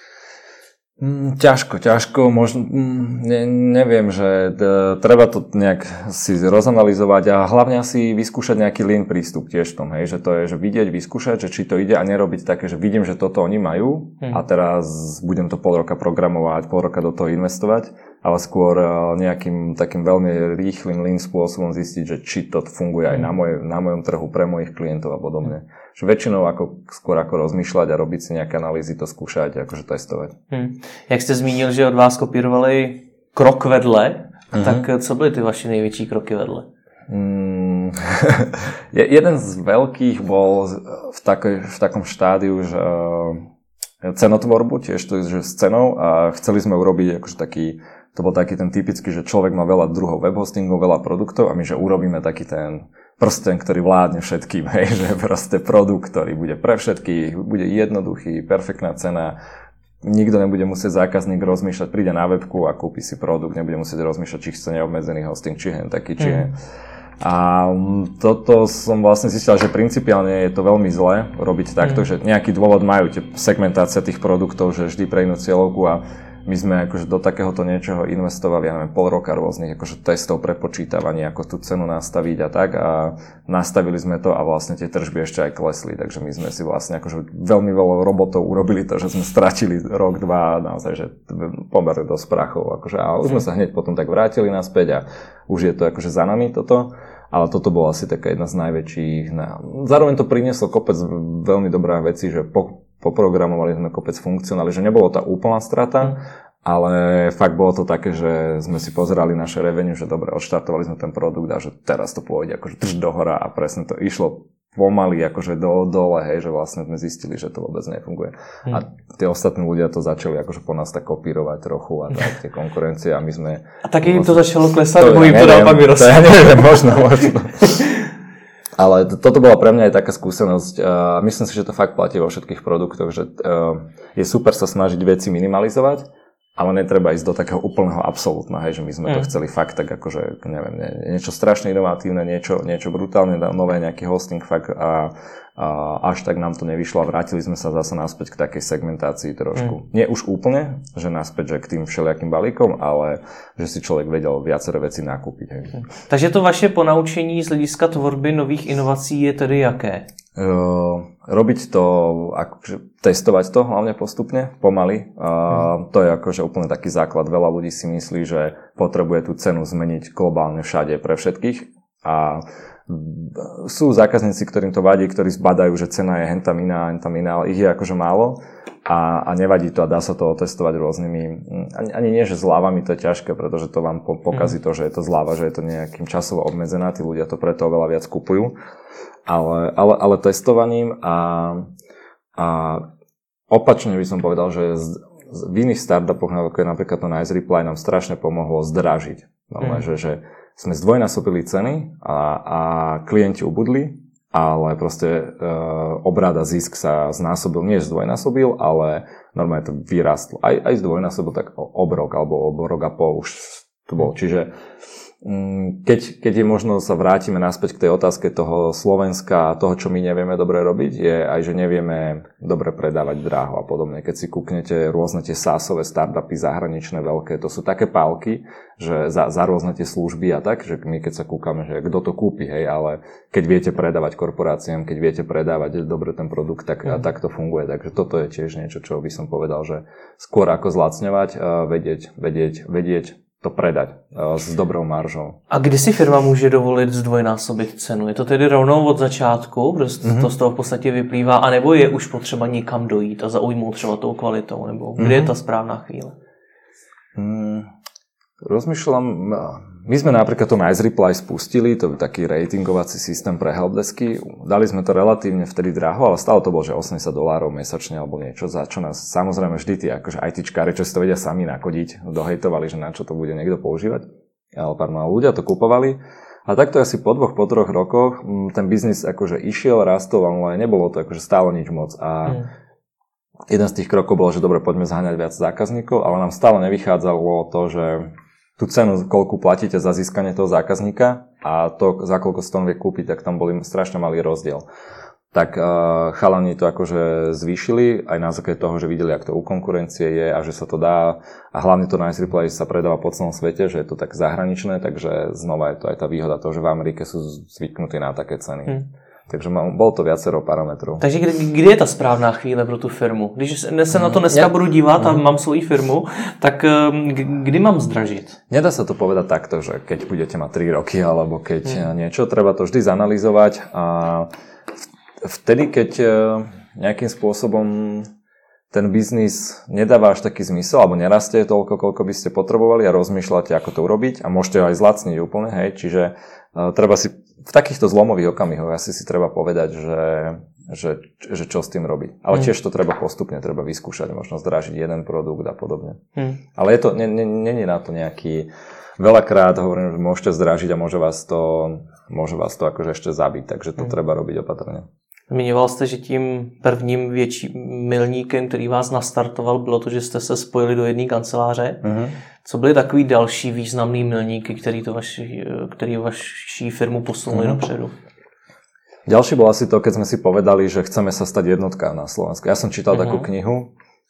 Ťažko, možno, neviem, že treba to nejak si rozanalizovať a hlavne si vyskúšať nejaký lean prístup tiež v tom, hej, že to je, že vidieť, vyskúšať, že či to ide a nerobiť také, že vidím, že toto oni majú a teraz budem to pol roka programovať, pol roka do toho investovať, ale skôr nejakým takým veľmi rýchlym lean spôsobom zistiť, že či to funguje aj na mojom trhu pre mojich klientov a podobne. Že väčšinou skôr ako rozmýšľať a robiť si nejaké analýzy, to skúšať, akože testovať. Jak jste zmínil, že od vás kopírovali krok vedle, tak co byly ty vaše největší kroky vedle? Jeden z veľkých bol v takom štádiu, že cenotvorbu, tiež to je, že s cenou a chceli sme urobiť akože taký, to bol taký ten typický, že človek má veľa druhov webhostingov, veľa produktov a my, že urobíme taký ten prsten, ktorý vládne všetkým, hej, že proste produkt, ktorý bude pre všetkých, bude jednoduchý, perfektná cena, nikto nebude musieť zákazník rozmýšľať, príde na webku a kúpi si produkt, nebude musieť rozmýšľať, či chce neobmedzený hosting, či hen taký, či hen. A toto som vlastne zistil, že principiálne je to veľmi zlé robiť takto, že nejaký dôvod majú tie segmentácia tých produktov, že vždy pre inú cieľovku a my sme akože do takéhoto niečoho investovali, ja neviem, pol roka rôznych akože testov, prepočítavaní, ako tú cenu nastaviť a tak a nastavili sme to a vlastne tie tržby ešte aj klesli, takže my sme si vlastne akože veľmi veľa robotov urobili to, že sme stratili rok, dva, naozaj, že pomer dosť prachov, akože a už sme sa hneď potom tak vrátili naspäť a už je to akože za nami toto. Ale toto bola asi taká jedna z najväčších. Zároveň to prinieslo kopec veľmi dobrá vecí, že poprogramovali sme kopec funkcionály, že nebolo tá úplná strata, ale fakt bolo to také, že sme si pozerali naše revenue, že dobre, odštartovali sme ten produkt a že teraz to pôjde akože drž dohora a presne to išlo pomaly akože dole, hej, že vlastne sme zistili, že to vôbec nefunguje. A tie ostatní ľudia to začali akože po nás tak kopírovať trochu a tak, tie konkurencie a my sme... A taky im to začalo klesať, bo im to naopak vyrostlo. Ja neviem, možno. Ale toto bola pre mňa aj taká skúsenosť a myslím si, že to fakt platí vo všetkých produktoch, že je super sa snažiť veci minimalizovať, ale netreba ísť do takého úplného absolútna, hej, že my sme to chceli fakt tak akože, neviem, niečo strašne inovatívne, niečo brutálne nové, nejaký hosting fakt a až tak nám to nevyšlo a vrátili sme sa zase naspäť k takej segmentácii trošku. Nie už úplne, že naspäť, že k tým všelijakým balíkom, ale že si človek vedel viaceré veci nakúpiť. Hej. Takže to vaše ponaučení z hlediska tvorby nových inovací je tedy jaké? Robiť to, akože testovať to hlavne postupne, pomaly. To je akože úplne taký základ. Veľa ľudí si myslí, že potrebuje tú cenu zmeniť globálne všade pre všetkých a sú zákazníci, ktorým to vadí, ktorí zbadajú, že cena je hentam iná, ale ich je akože málo a nevadí to a dá sa to otestovať rôznymi, ani nie, že zľavami to je ťažké, pretože to vám pokazí to, že je to zľava, že je to nejakým časovo obmedzená, tí ľudia to preto oveľa viac kupujú, ale testovaním a opačne by som povedal, že v iných startupoch, ako je napríklad to Nice Reply, nám strašne pomohlo zdražiť. Že sme zdvojnásobili ceny a klienti ubudli, ale proste obrat a zisk sa znásobil, nie zdvojnásobil, ale normálne to vyrastlo. Aj zdvojnásobil tak obrok alebo obrok a pol už to bol. Čiže Keď je možno sa vrátime naspäť k tej otázke toho Slovenska a toho, čo my nevieme dobre robiť, je aj, že nevieme dobre predávať dráho a podobne. Keď si kúknete rôzne tie SaaSové startupy zahraničné veľké, to sú také pálky, že za rôzne tie služby a tak, že my keď sa kúkame, že kto to kúpi, hej, ale keď viete predávať korporáciám, keď viete predávať dobre ten produkt, tak to funguje. Takže toto je tiež niečo, čo by som povedal, že skôr ako zlacňovať, vedieť to predať s dobrou maržou. A kdy si firma může dovolit zdvojnásobit cenu? Je to tedy rovnou od začátku, protože to z toho v podstatě vyplývá, anebo je už potřeba někam dojít a zaujmout třeba tou kvalitou, nebo kdy je ta správná chvíle? Rozmýšľam, my sme napríklad to Nice Reply spustili, to je taký ratingovací systém pre helpdesky. Dali sme to relatívne vtedy draho, ale stále to bolo, že $80 mesačne alebo niečo, za čo nás samozrejme vždy tí akože ITčkári, čo si to vedia sami nakodiť, dohejtovali, že na čo to bude niekto používať. Ale ľudia to kupovali. A takto asi po 3 rokoch ten biznis akože išiel, rastol, ale nebolo to akože stále nič moc. A jeden z tých krokov bolo, že dobre, poďme zháňať viac zákazníkov, ale nám stále nevychádzalo to, že tú cenu, koľku platíte za získanie toho zákazníka a to, za koľko si to vie kúpiť, tak tam boli strašne malý rozdiel. Tak chalani to akože zvýšili aj na základe toho, že videli, ak to u konkurencie je a že sa to dá. A hlavne to Nice Reply sa predáva po celom svete, že je to tak zahraničné, takže znova je to aj tá výhoda toho, že v Amerike sú zvyknutí na také ceny. Takže bolo to viacero parametrov. Takže kdy je ta správná chvíle pro tu firmu? Když se na to dneska budu dívat a mám svoji firmu, tak kdy mám zdražit? Nedá sa to povedať takto, že keď budete mať 3 roky alebo keď niečo, treba to vždy zanalizovať a vtedy, keď nejakým spôsobom ten biznis nedáva až taký zmysel alebo nerastie toľko, koľko by ste potrebovali a rozmýšľate, ako to urobiť a môžete ho aj zlacniť úplne, hej, čiže treba si v takýchto zlomových okamihoch asi si treba povedať, že čo s tým robiť. Ale tiež to treba postupne, treba vyskúšať, možno zdražiť jeden produkt a podobne. Ale je to, nie na to nejaký, veľakrát hovorím, že môžete zdražiť a môže vás to akože ešte zabiť, takže to treba robiť opatrne. Zmiňoval jste, že tím prvním větším milníkem, který vás nastartoval, bylo to, že jste se spojili do jedné kanceláře. Co byly takový další významný milníky, který vaši firmu posunuli dopředu? Ďalší bol asi to, keď sme si povedali, že chceme sa stať jednotka na Slovensku. Ja som čítal takú knihu,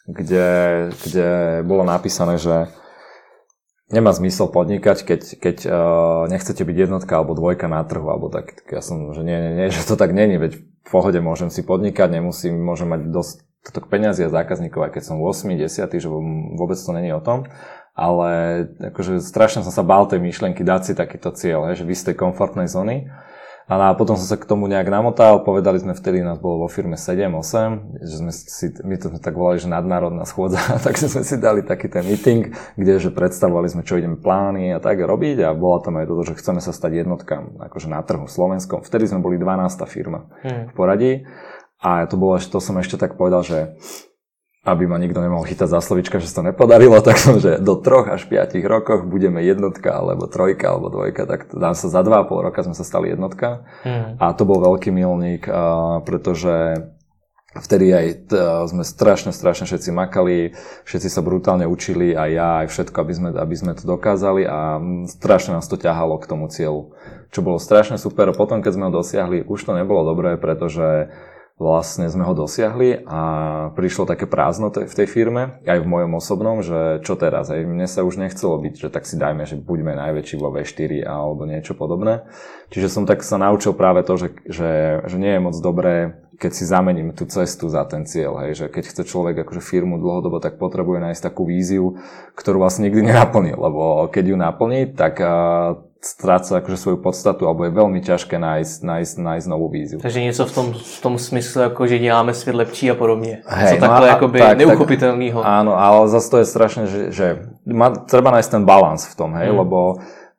kde bolo napísané, že nemá zmysel podnikať, keď nechcete byť jednotka alebo dvojka na trhu, alebo tak ja som, že nie, že to tak není, veď v pohode môžem si podnikať, môžem mať dostatok peňazí a zákazníkov, aj keď som 8, 10, že vôbec to není o tom, ale akože strašne som sa bál tej myšlienky dať si takýto cieľ, že vy z tej komfortnej zóny. A potom som sa k tomu nejak namotal, povedali sme vtedy, nás bolo vo firme 7-8, že my to tak volali, že nadnárodná schôdza, takže sme si dali taký ten meeting, kde že predstavovali sme, čo ideme plány a tak robiť a bola tam aj toto, že chceme sa stať jednotkám, akože na trhu slovenskom. Vtedy sme boli 12. firma v poradí a to som ešte tak povedal, že aby ma nikto nemohol chytať za slovička, že sa to nepodarilo, tak som, že do 3 až 5 rokoch budeme jednotka, alebo 3 alebo 2, tak dám sa za 2,5 roka sme sa stali jednotka. A to bol veľký milník, pretože vtedy aj sme strašne všetci makali, všetci sa brutálne učili, aj ja, aj všetko, aby sme to dokázali a strašne nás to ťahalo k tomu cieľu. Čo bolo strašne super. Potom, keď sme ho dosiahli, už to nebolo dobré, pretože vlastne sme ho dosiahli a prišlo také prázdno v tej firme, aj v mojom osobnom, že čo teraz, aj mne sa už nechcelo byť, že tak si dajme, že buďme najväčší vo V4 alebo niečo podobné. Čiže som tak sa naučil práve to, že nie je moc dobré, keď si zamením tú cestu za ten cieľ, hej, že keď chce človek akože firmu dlhodobo, tak potrebuje nájsť takú víziu, ktorú vlastne nikdy nenaplnil, lebo keď ju naplní, tak stráca akože svoju podstatu, alebo je veľmi ťažké nájsť novú víziu. Takže něco v tom smyslu, jako že děláme svět lepší a podobně. Hej, co takhle jakoby neuchopitelného. Áno, ale zase to je strašne, že treba nájsť ten balans v tom, hej, lebo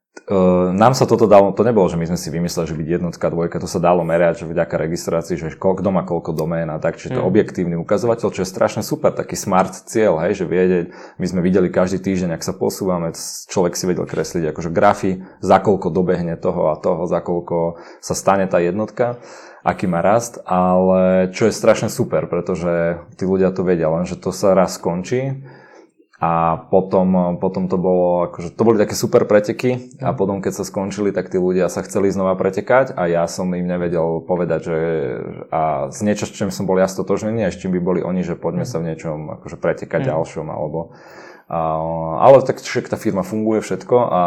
nám sa toto dalo, to nebolo, že my sme si vymysleli, že byť jednotka, dvojka, to sa dalo merať, že vďaka registrácii, že kto má koľko domén a tak, čiže to objektívny ukazovateľ, čo je strašne super, taký smart cieľ, hej, že vedieť, my sme videli každý týždeň, ak sa posúvame, človek si vedel kresliť akože grafy, za koľko dobehne toho a toho, za koľko sa stane tá jednotka, aký má rast, ale čo je strašne super, pretože tí ľudia to vedia, lenže to sa raz skončí A potom to bolo, akože to boli také super preteky a potom keď sa skončili, tak tí ľudia sa chceli znova pretekať a ja som im nevedel povedať, že a z niečo, s čím som bol ja stotožnený a s čím by boli oni, že poďme sa v niečom akože pretekať ďalšom alebo ale tak však tá firma funguje všetko a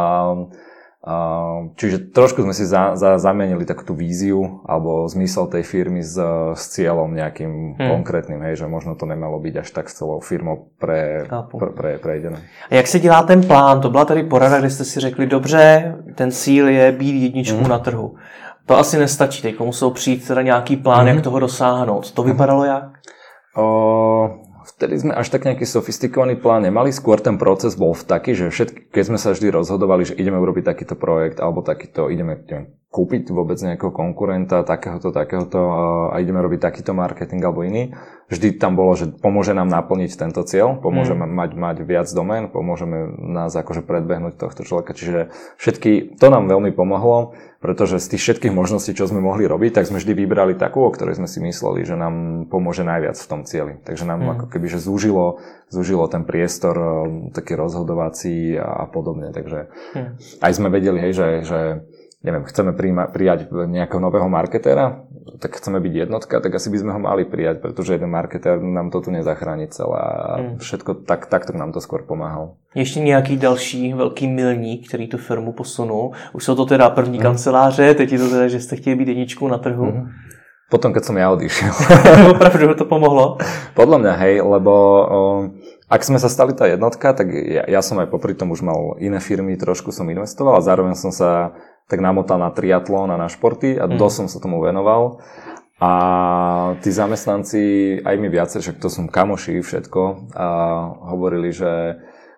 čiže trošku sme si zamienili takú tú víziu alebo zmysel tej firmy s cieľom nejakým konkrétnym, hej, že možno to nemalo byť až tak s celou firmou prejdené. A jak se dělá ten plán? To byla tady porada, kde jste si řekli, dobře, ten cíl je být jedničkou na trhu. To asi nestačí, teď musel přijít teda nějaký plán, jak toho dosáhnout. To vypadalo jak? Vtedy sme až tak nejaký sofistikovaný plán nemali, skôr ten proces bol taký, že keď sme sa vždy rozhodovali, že ideme urobiť takýto projekt alebo takýto, ideme kúpiť vôbec nejakého konkurenta, takéhoto a ideme robiť takýto marketing alebo iný, vždy tam bolo, že pomôže nám naplniť tento cieľ, pomôže mať viac domén, pomôžeme nás akože predbehnúť tohto človeka, čiže to nám veľmi pomohlo, pretože z tých všetkých možností, čo sme mohli robiť, tak sme vždy vybrali takú, o ktorej sme si mysleli, že nám pomôže najviac v tom cieli. Takže nám ako keby, že zúžilo ten priestor taký rozhodovací a podobne. Takže aj sme vedeli, hej, že neviem, chceme prijať nejakého nového marketéra, tak chceme byť jednotka, tak asi by sme ho mali prijať, pretože jeden marketér nám to tu nezachráni celé a všetko takto nám to skôr pomáhal. Ještě nějaký další velký milník, který tu firmu posunul? Už jsou to teda první kanceláře, teď je to teda, že jste chtěli být jedničkou na trhu. Potom, keď som ja odišiel. Opravdu to pomohlo? Podľa mňa, hej, lebo ak sme sa stali tá jednotka, tak ja som aj popri tom už mal iné firmy, trošku som investoval a zároveň som sa tak namotal na triatlón a na športy a dosť som sa tomu venoval. A tí zamestnanci, aj mi viacej, však to som kamoši všetko, a hovorili, že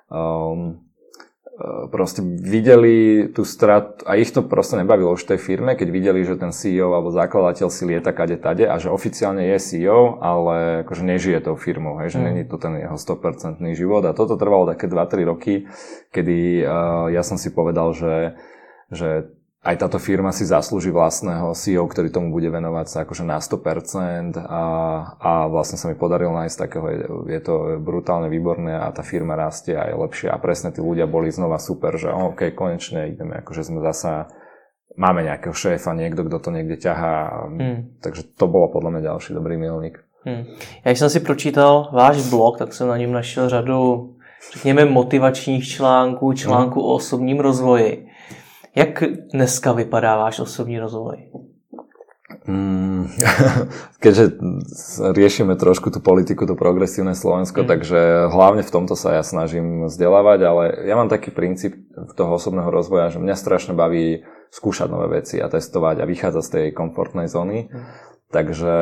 proste videli tú stratu a ich to proste nebavilo už v tej firme, keď videli, že ten CEO alebo zakladateľ si lieta kade tade a že oficiálne je CEO, ale akože nežije tou firmou, hej, že není to ten jeho 100% život a toto trvalo také 2-3 roky, kedy ja som si povedal, že aj táto firma si zaslúži vlastného CEO, ktorý tomu bude venovať sa akože na 100% a vlastne sa mi podarilo nájsť takého, je to brutálne výborné a tá firma rastie a je lepšia a presne tí ľudia boli znova super, že OK, konečne ideme, akože sme zasa, máme nejakého šéfa, niekto, kto to niekde ťahá, takže to bolo podľa mňa ďalší dobrý milník. Já když jsem si pročítal váš blog, tak jsem na něm našel řadu, řekněme, motivačních článků o osobním rozvoji. Jak dneska vypadá váš osobní rozvoj? Keďže riešime trošku tú politiku, to progresívne Slovensko, takže hlavne v tomto sa ja snažím vzdelávať, ale ja mám taký princíp toho osobného rozvoja, že mňa strašne baví skúšať nové veci a testovať a vychádzať z tej komfortnej zóny. Takže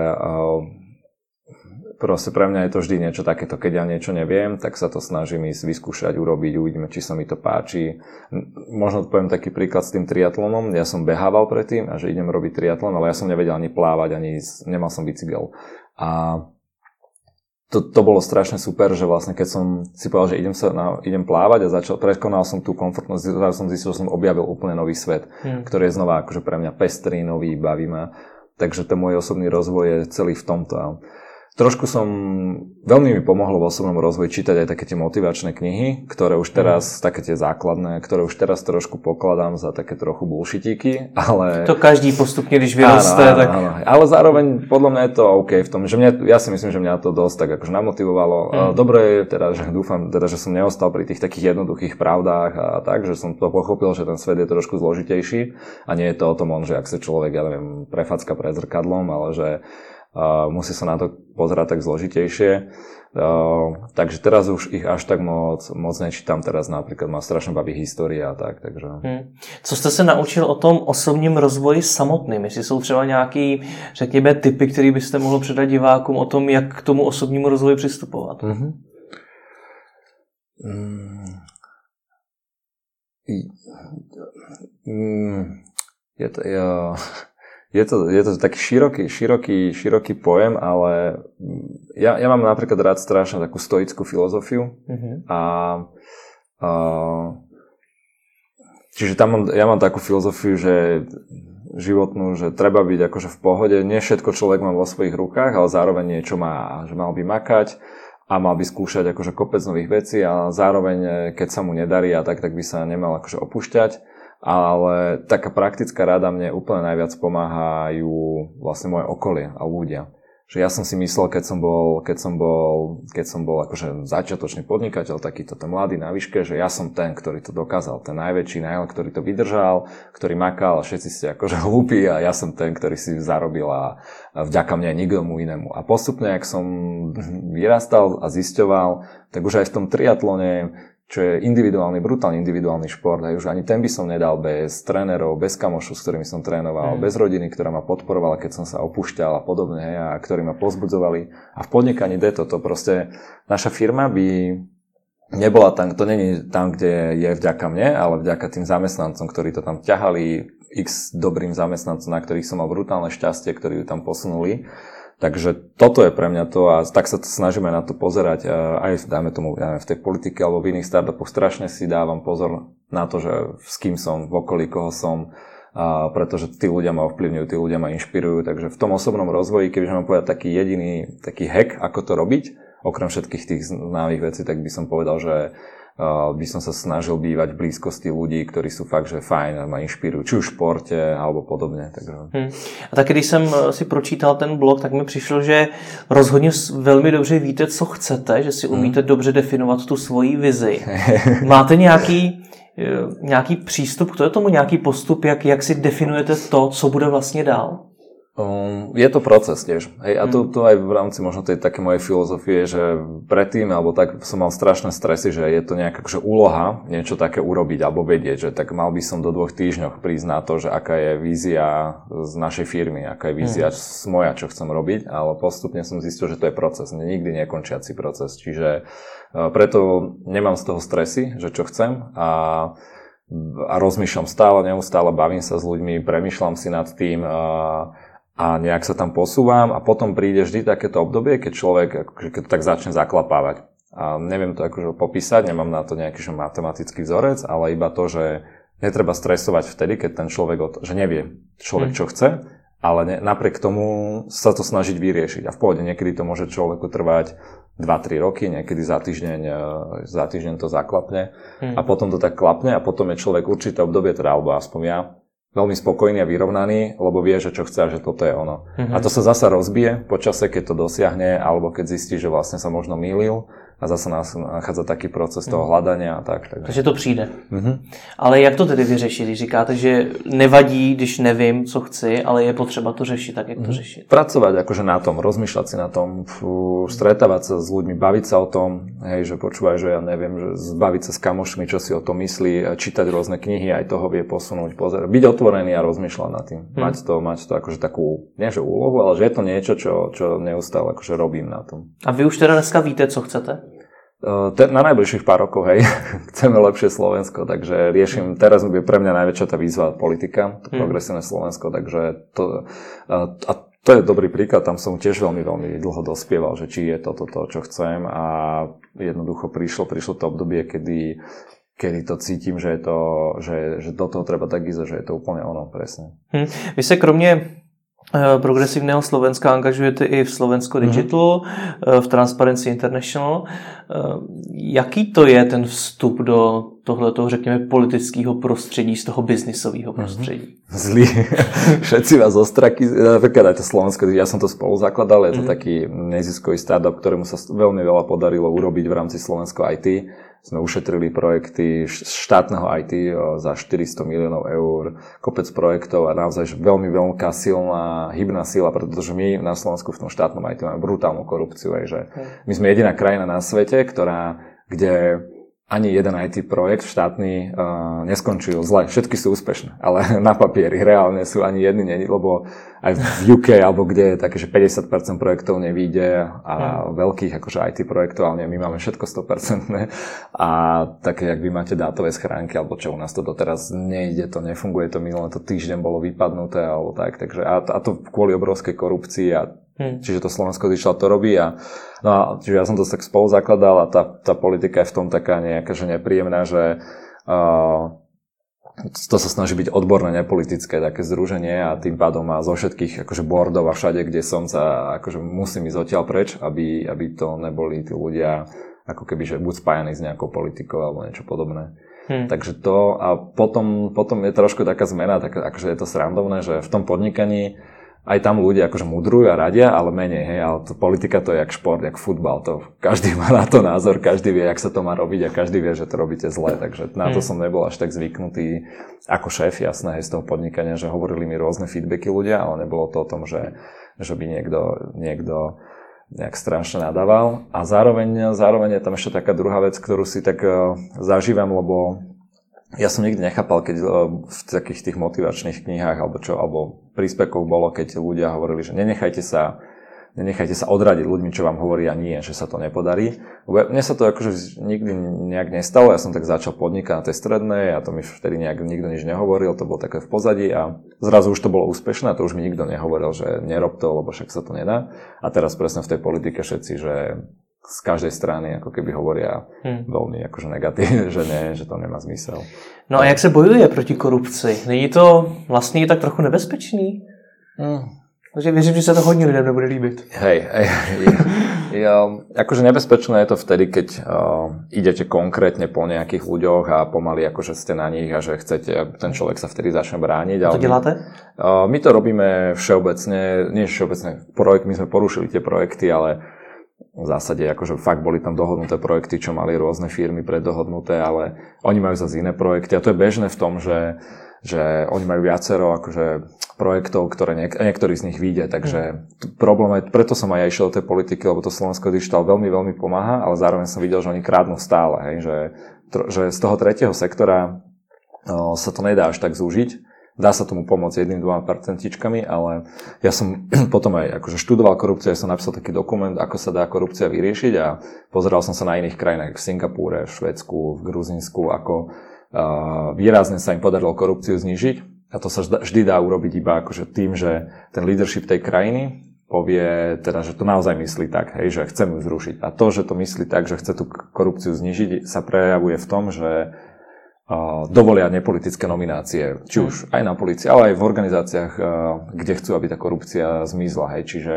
proste pre mňa je to vždy niečo takéto, keď ja niečo neviem, tak sa to snažím ísť vyskúšať, urobiť, uvidíme, či sa mi to páči. Možno poviem taký príklad s tým triatlonom. Ja som behával predtým a že idem robiť triatlon, ale ja som nevedel ani plávať, ani nemal som bicykel. A to bolo strašne super, že vlastne keď som si povedal, že idem plávať a prekonal som tú komfortnosť, zrazu som zistil, že som objavil úplne nový svet, ktorý je znova akože pre mňa pestrý, nový, baví ma. Takže ten môj osobný rozvoj je celý v tomto. Trošku veľmi mi pomohlo v osobnom rozvoji čítať aj také tie motivačné knihy, ktoré už teraz, také tie základné, ktoré už teraz trošku pokladám za také trochu bullshitíky, ale... To každý postupne, když vyroste, tak... Áno. Ale zároveň podľa mňa je to OK v tom, že ja si myslím, že mňa to dosť tak akože namotivovalo. Dobre je teda, že dúfam teda, že som neostal pri tých takých jednoduchých pravdách a tak, že som to pochopil, že ten svet je trošku zložitejší a nie je to o tom, že ak sa človek, ja neviem, prefacka pred zrkadlom, ale že musí sa na to pozerať tak zložitejšie. Takže teraz už ich až tak moc nečítam. Teraz napríklad ma strašne baví história a tak. Takže... Co jste se naučil o tom osobním rozvoji samotným? Jestli jsou třeba nějaký, řekněme, tipy, které byste mohl předat divákům o tom, jak k tomu osobnímu rozvoji přistupovat? Je to taký široký pojem, ale ja mám napríklad rád strašne takú stoickú filozofiu čiže ja mám takú filozofiu, že životnú, že treba byť akože v pohode, nie všetko človek má vo svojich rukách, ale zároveň niečo má, že mal by makať a mal by skúšať akože kopec nových vecí a zároveň, keď sa mu nedarí a tak by sa nemal akože opúšťať. Ale taká praktická rada mne úplne najviac pomáhajú vlastne moje okolie a ľudia. Že ja som si myslel, keď som bol akože začiatočný podnikateľ, takýto ten mladý na výške, že ja som ten, ktorý to dokázal, ten najväčší, ktorý to vydržal, ktorý makal a všetci ste akože hlúpi a ja som ten, ktorý si zarobil a vďaka mne nikomu inému. A postupne, ak som vyrastal a zisťoval, tak už aj v tom triatlone, čo je brutálne individuálny šport, a už ani ten by som nedal bez trénerov, bez kamošov, s ktorými som trénoval, bez rodiny, ktorá ma podporovala, keď som sa opúšťal a podobne, a ktorí ma povzbudzovali. A v podnikaní to proste naša firma by nebola tam, to není tam, kde je vďaka mne, ale vďaka tým zamestnancom, ktorí to tam ťahali, x dobrým zamestnancom, na ktorých som mal brutálne šťastie, ktorí ju tam posunuli. Takže toto je pre mňa to a tak sa to snažíme na to pozerať aj dajme tomu v tej politike alebo v iných startupoch. Strašne si dávam pozor na to, že s kým som, v okolí koho som, pretože tí ľudia ma ovplyvňujú, tí ľudia ma inšpirujú. Takže v tom osobnom rozvoji, kebyže mám povedať taký jediný taký hack, ako to robiť, okrem všetkých tých známych vecí, tak by som povedal, že by som sa snažil bývať v blízkosti ľudí, ktorí sú fakt, že fajn a ma inšpirujú, či už v športe, alebo podobne. Takže. A taky, když jsem si pročítal ten blog, tak mi přišlo, že rozhodně velmi dobře víte, co chcete, že si umíte dobře definovat tu svoji vizi. Máte nějaký přístup k tomu, nějaký postup, jak si definujete to, co bude vlastně dál? Je to proces tiež. Hej, a to aj v rámci možno tej také mojej filozofie, že predtým, alebo tak som mal strašné stresy, že je to nejaká akože úloha niečo také urobiť alebo vedieť, že tak mal by som do 2 týždňoch prísť na to, že aká je vízia z našej firmy, aká je vízia moja, čo chcem robiť, ale postupne som zistil, že to je proces, nikdy nekončiaci proces. Čiže preto nemám z toho stresy, že čo chcem a rozmýšľam neustále, bavím sa s ľuďmi, premýšľam si nad tým a nejak sa tam posúvam a potom príde vždy takéto obdobie, keď človek keď to tak začne zaklapávať. A neviem to akože popísať, nemám na to nejaký matematický vzorec, ale iba to, že netreba stresovať vtedy, keď ten človek že nevie človek, čo chce, ale napriek tomu sa to snažiť vyriešiť. A v pohode niekedy to môže človeku trvať 2-3 roky, niekedy za týždeň to zaklapne a potom to tak klapne a potom je človek určité obdobie, teda alebo aspoň ja, veľmi spokojný a vyrovnaný, lebo vie, že čo chce a že toto je ono. A to sa zasa rozbije po čase, keď to dosiahne, alebo keď zistí, že vlastne sa možno mýlil a zase nás nachádza taký proces toho hľadania a tak. Takže to přijde. Ale jak to tedy vyřešit, když říkáte, že nevadí, když nevím, co chci, ale je potřeba to řešit, tak jak to řešit? Pracovať akože na tom, rozmýšľať si na tom, stretávať sa s ľuďmi, baviť sa o tom, hej, že počúvaj, že ja neviem, že baviť sa s kamošmi, čo si o tom myslí, čítať rôzne knihy, aj toho vie posunúť, pozerať, byť otvorený a rozmýšľať nad tým. Mať to akože takú, nie že úlohu, ale že je to niečo, čo neustále akože robím na tom. A vy už teda dneska víte, co chcete? Na najbližších pár rokov, hej, chceme lepšie Slovensko, takže riešim, teraz je pre mňa najväčšia tá výzva politika, to progresívne Slovensko, takže to je dobrý príklad, tam som tiež veľmi, veľmi dlho dospieval, že či je toto to, čo chcem a jednoducho prišlo to obdobie, kedy to cítim, že do toho treba tak ísť, že je to úplne ono, presne. Vy sa kromě progresivného Slovenska angažujete i v Slovensko Digital, v Transparency International. Jaký to je ten vstup do tohletoho, řekněme, politického prostředí, z toho biznisového prostředí? Zlý. Všetci vás ostraky, napríklad aj to Slovensko, ja som to spolu zakladal, je to taký neziskový startup, ktorému sa veľmi veľa podarilo urobiť v rámci Slovensko IT. Sme ušetrili projekty štátneho IT za 400 miliónov eur, kopec projektov a naozaj veľmi veľká silná hybná sila, pretože my na Slovensku v tom štátnom IT máme brutálnu korupciu. Že my sme jediná krajina na svete, kde ani jeden IT projekt štátny neskončil zle. Všetky sú úspešné, ale na papieri reálne sú ani jedny, lebo aj v UK, alebo kde je také, že 50% projektov nevíde a veľkých akože IT projektov, ale my máme všetko 100% a také, jak vy máte dátové schránky, alebo čo u nás to doteraz nejde, to nefunguje, to minulé to týždeň bolo vypadnuté, alebo tak, takže a to kvôli obrovskej korupcii a čiže to Slovensko Digital to robí čiže ja som to tak spolu zakladal a tá politika je v tom taká nejaká, že nepríjemná, že to sa snaží byť odborné, nepolitické také združenie a tým pádom má zo všetkých akože boardov a všade, kde som sa akože musím ísť odtiaľ preč, aby to neboli tí ľudia ako keby, že buď spájaní s nejakou politikou alebo niečo podobné. Takže to a potom je trošku taká zmena, tak akože je to srandovné, že v tom podnikaní aj tam ľudia akože mudrujú a radia, ale menej, hej, ale politika to je jak šport, jak futbal, to každý má na to názor, každý vie, jak sa to má robiť a každý vie, že to robíte zle, takže na to som nebol až tak zvyknutý ako šéf, jasné, hej, z toho podnikania, že hovorili mi rôzne feedbacky ľudia, ale nebolo to o tom, že by niekto nejak strašne nadával a zároveň je tam ešte taká druhá vec, ktorú si tak zažívam, lebo ja som nikdy nechápal, keď v takých tých motivačných knihách alebo príspevkoch bolo, keď ľudia hovorili, že nenechajte sa odradiť ľuďmi, čo vám hovoria nie, že sa to nepodarí. Mne sa to akože nikdy nejak nestalo, ja som tak začal podnikať na tej strednej a to mi vtedy nejak nikto nič nehovoril, to bolo také v pozadí a zrazu už to bolo úspešné a to už mi nikto nehovoril, že nerob to, lebo však sa to nedá. A teraz presne v tej politike všetci, že z každej strany ako keby hovoria veľmi akože negatívne, že nie, že to nemá zmysel. No a jak se bojuje proti korupci? Není to vlastně tak trochu nebezpečný? Takže věřím, že sa to hodně lidem nebude líbit. Hej, akože nebezpečné je to vtedy, keď idete konkrétne po nejakých ľuďoch a pomaly akože ste na nich a že chcete, ten človek sa vtedy začne brániť. A to děláte? My to robíme všeobecne, nie všeobecne, my sme porušili tie projekty, ale v zásade akože fakt boli tam dohodnuté projekty, čo mali rôzne firmy preddohodnuté, ale oni majú zase iné projekty a to je bežné v tom, že oni majú viacero akože projektov, ktoré niektorý z nich vyjde, takže problém je, preto som aj išiel do tej politiky, lebo to Slovensko Digital veľmi, veľmi pomáha, ale zároveň som videl, že oni krádnu stále, hej, že z toho tretieho sektora sa to nedá až tak zúžiť. Dá sa tomu pomôcť 1-2%, ale ja som potom aj akože študoval korupciu, ja som napísal taký dokument, ako sa dá korupcia vyriešiť a pozeral som sa na iných krajinách, v Singapúre, v Švédsku, v Gruzínsku, ako výrazne sa im podarilo korupciu znížiť. A to sa vždy dá urobiť iba akože tým, že ten leadership tej krajiny povie teda, že to naozaj myslí tak, hej, že chcem ju zrušiť. A to, že to myslí tak, že chce tú korupciu znížiť, sa prejavuje v tom, že dovolia nepolitické nominácie, či už aj na polícii, ale aj v organizáciách, kde chcú, aby tá korupcia zmizla. Hej. Čiže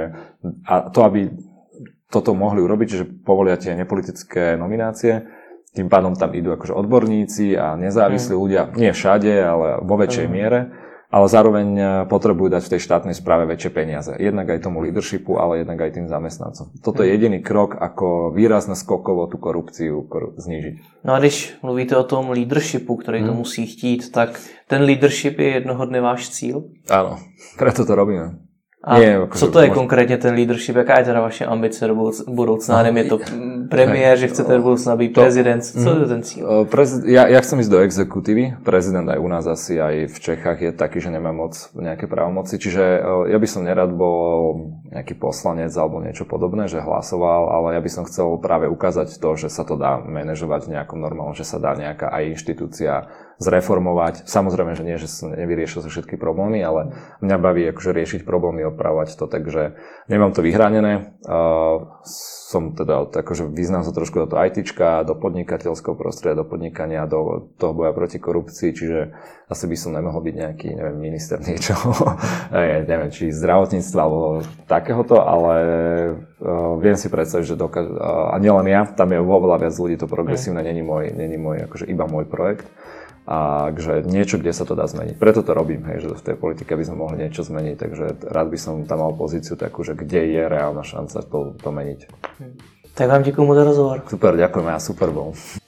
a to, aby toto mohli urobiť, že povolia tie nepolitické nominácie, tým pádom tam idú akože odborníci a nezávislí ľudia, nie všade, ale vo väčšej miere, ale zároveň potrebujú dať v tej štátnej správe väčšie peniaze. Jednak aj tomu leadershipu, ale jednak aj tým zamestnancom. Toto je jediný krok, ako výrazne skokovo tú korupciu znížiť. No a když mluvíte o tom leadershipu, který to musí chtít, tak ten leadership je jednoho dne váš cíl? Áno, preto to robíme. A co to je konkrétně ten leadership? Jaká je teda vaše ambice do budoucna? Nevím, je to premiér, že chcete do budoucna být prezident? Co je ten cíl? Ja chcem ísť do exekutívy. Prezident aj u nás asi, aj v Čechách je taký, že nemá moc nejaké právomoci. Čiže ja by som nerad bol nejaký poslanec alebo niečo podobné, že hlasoval, ale ja by som chcel práve ukázať to, že sa to dá manažovať v nejakom normálnom, že sa dá nejaká aj inštitúcia zreformovať. Samozrejme, že nie, že sa nevyriešil sa všetky problémy, ale mňa baví akože riešiť problémy, opravovať to, takže nemám to vyhranené. Som teda akože vyznám sa trošku do toho ITčka, do podnikateľského prostredia, do podnikania, do toho boja proti korupcii, čiže asi by som nemohol byť nejaký, neviem, minister niečoho, neviem, či zdravotníctva alebo takéhoto, ale viem si predstaviť, že a nielen ja, tam je oveľa viac ľudí, to progresívne není môj akože iba môj projekt. A že niečo, kde sa to dá zmeniť. Preto to robím, hej, že v tej politike by sme mohli niečo zmeniť, takže rád by som tam mal pozíciu takú, že kde je reálna šanca to meniť. Tak vám ďakujem za rozhovor. Super, ďakujem, ja super bol.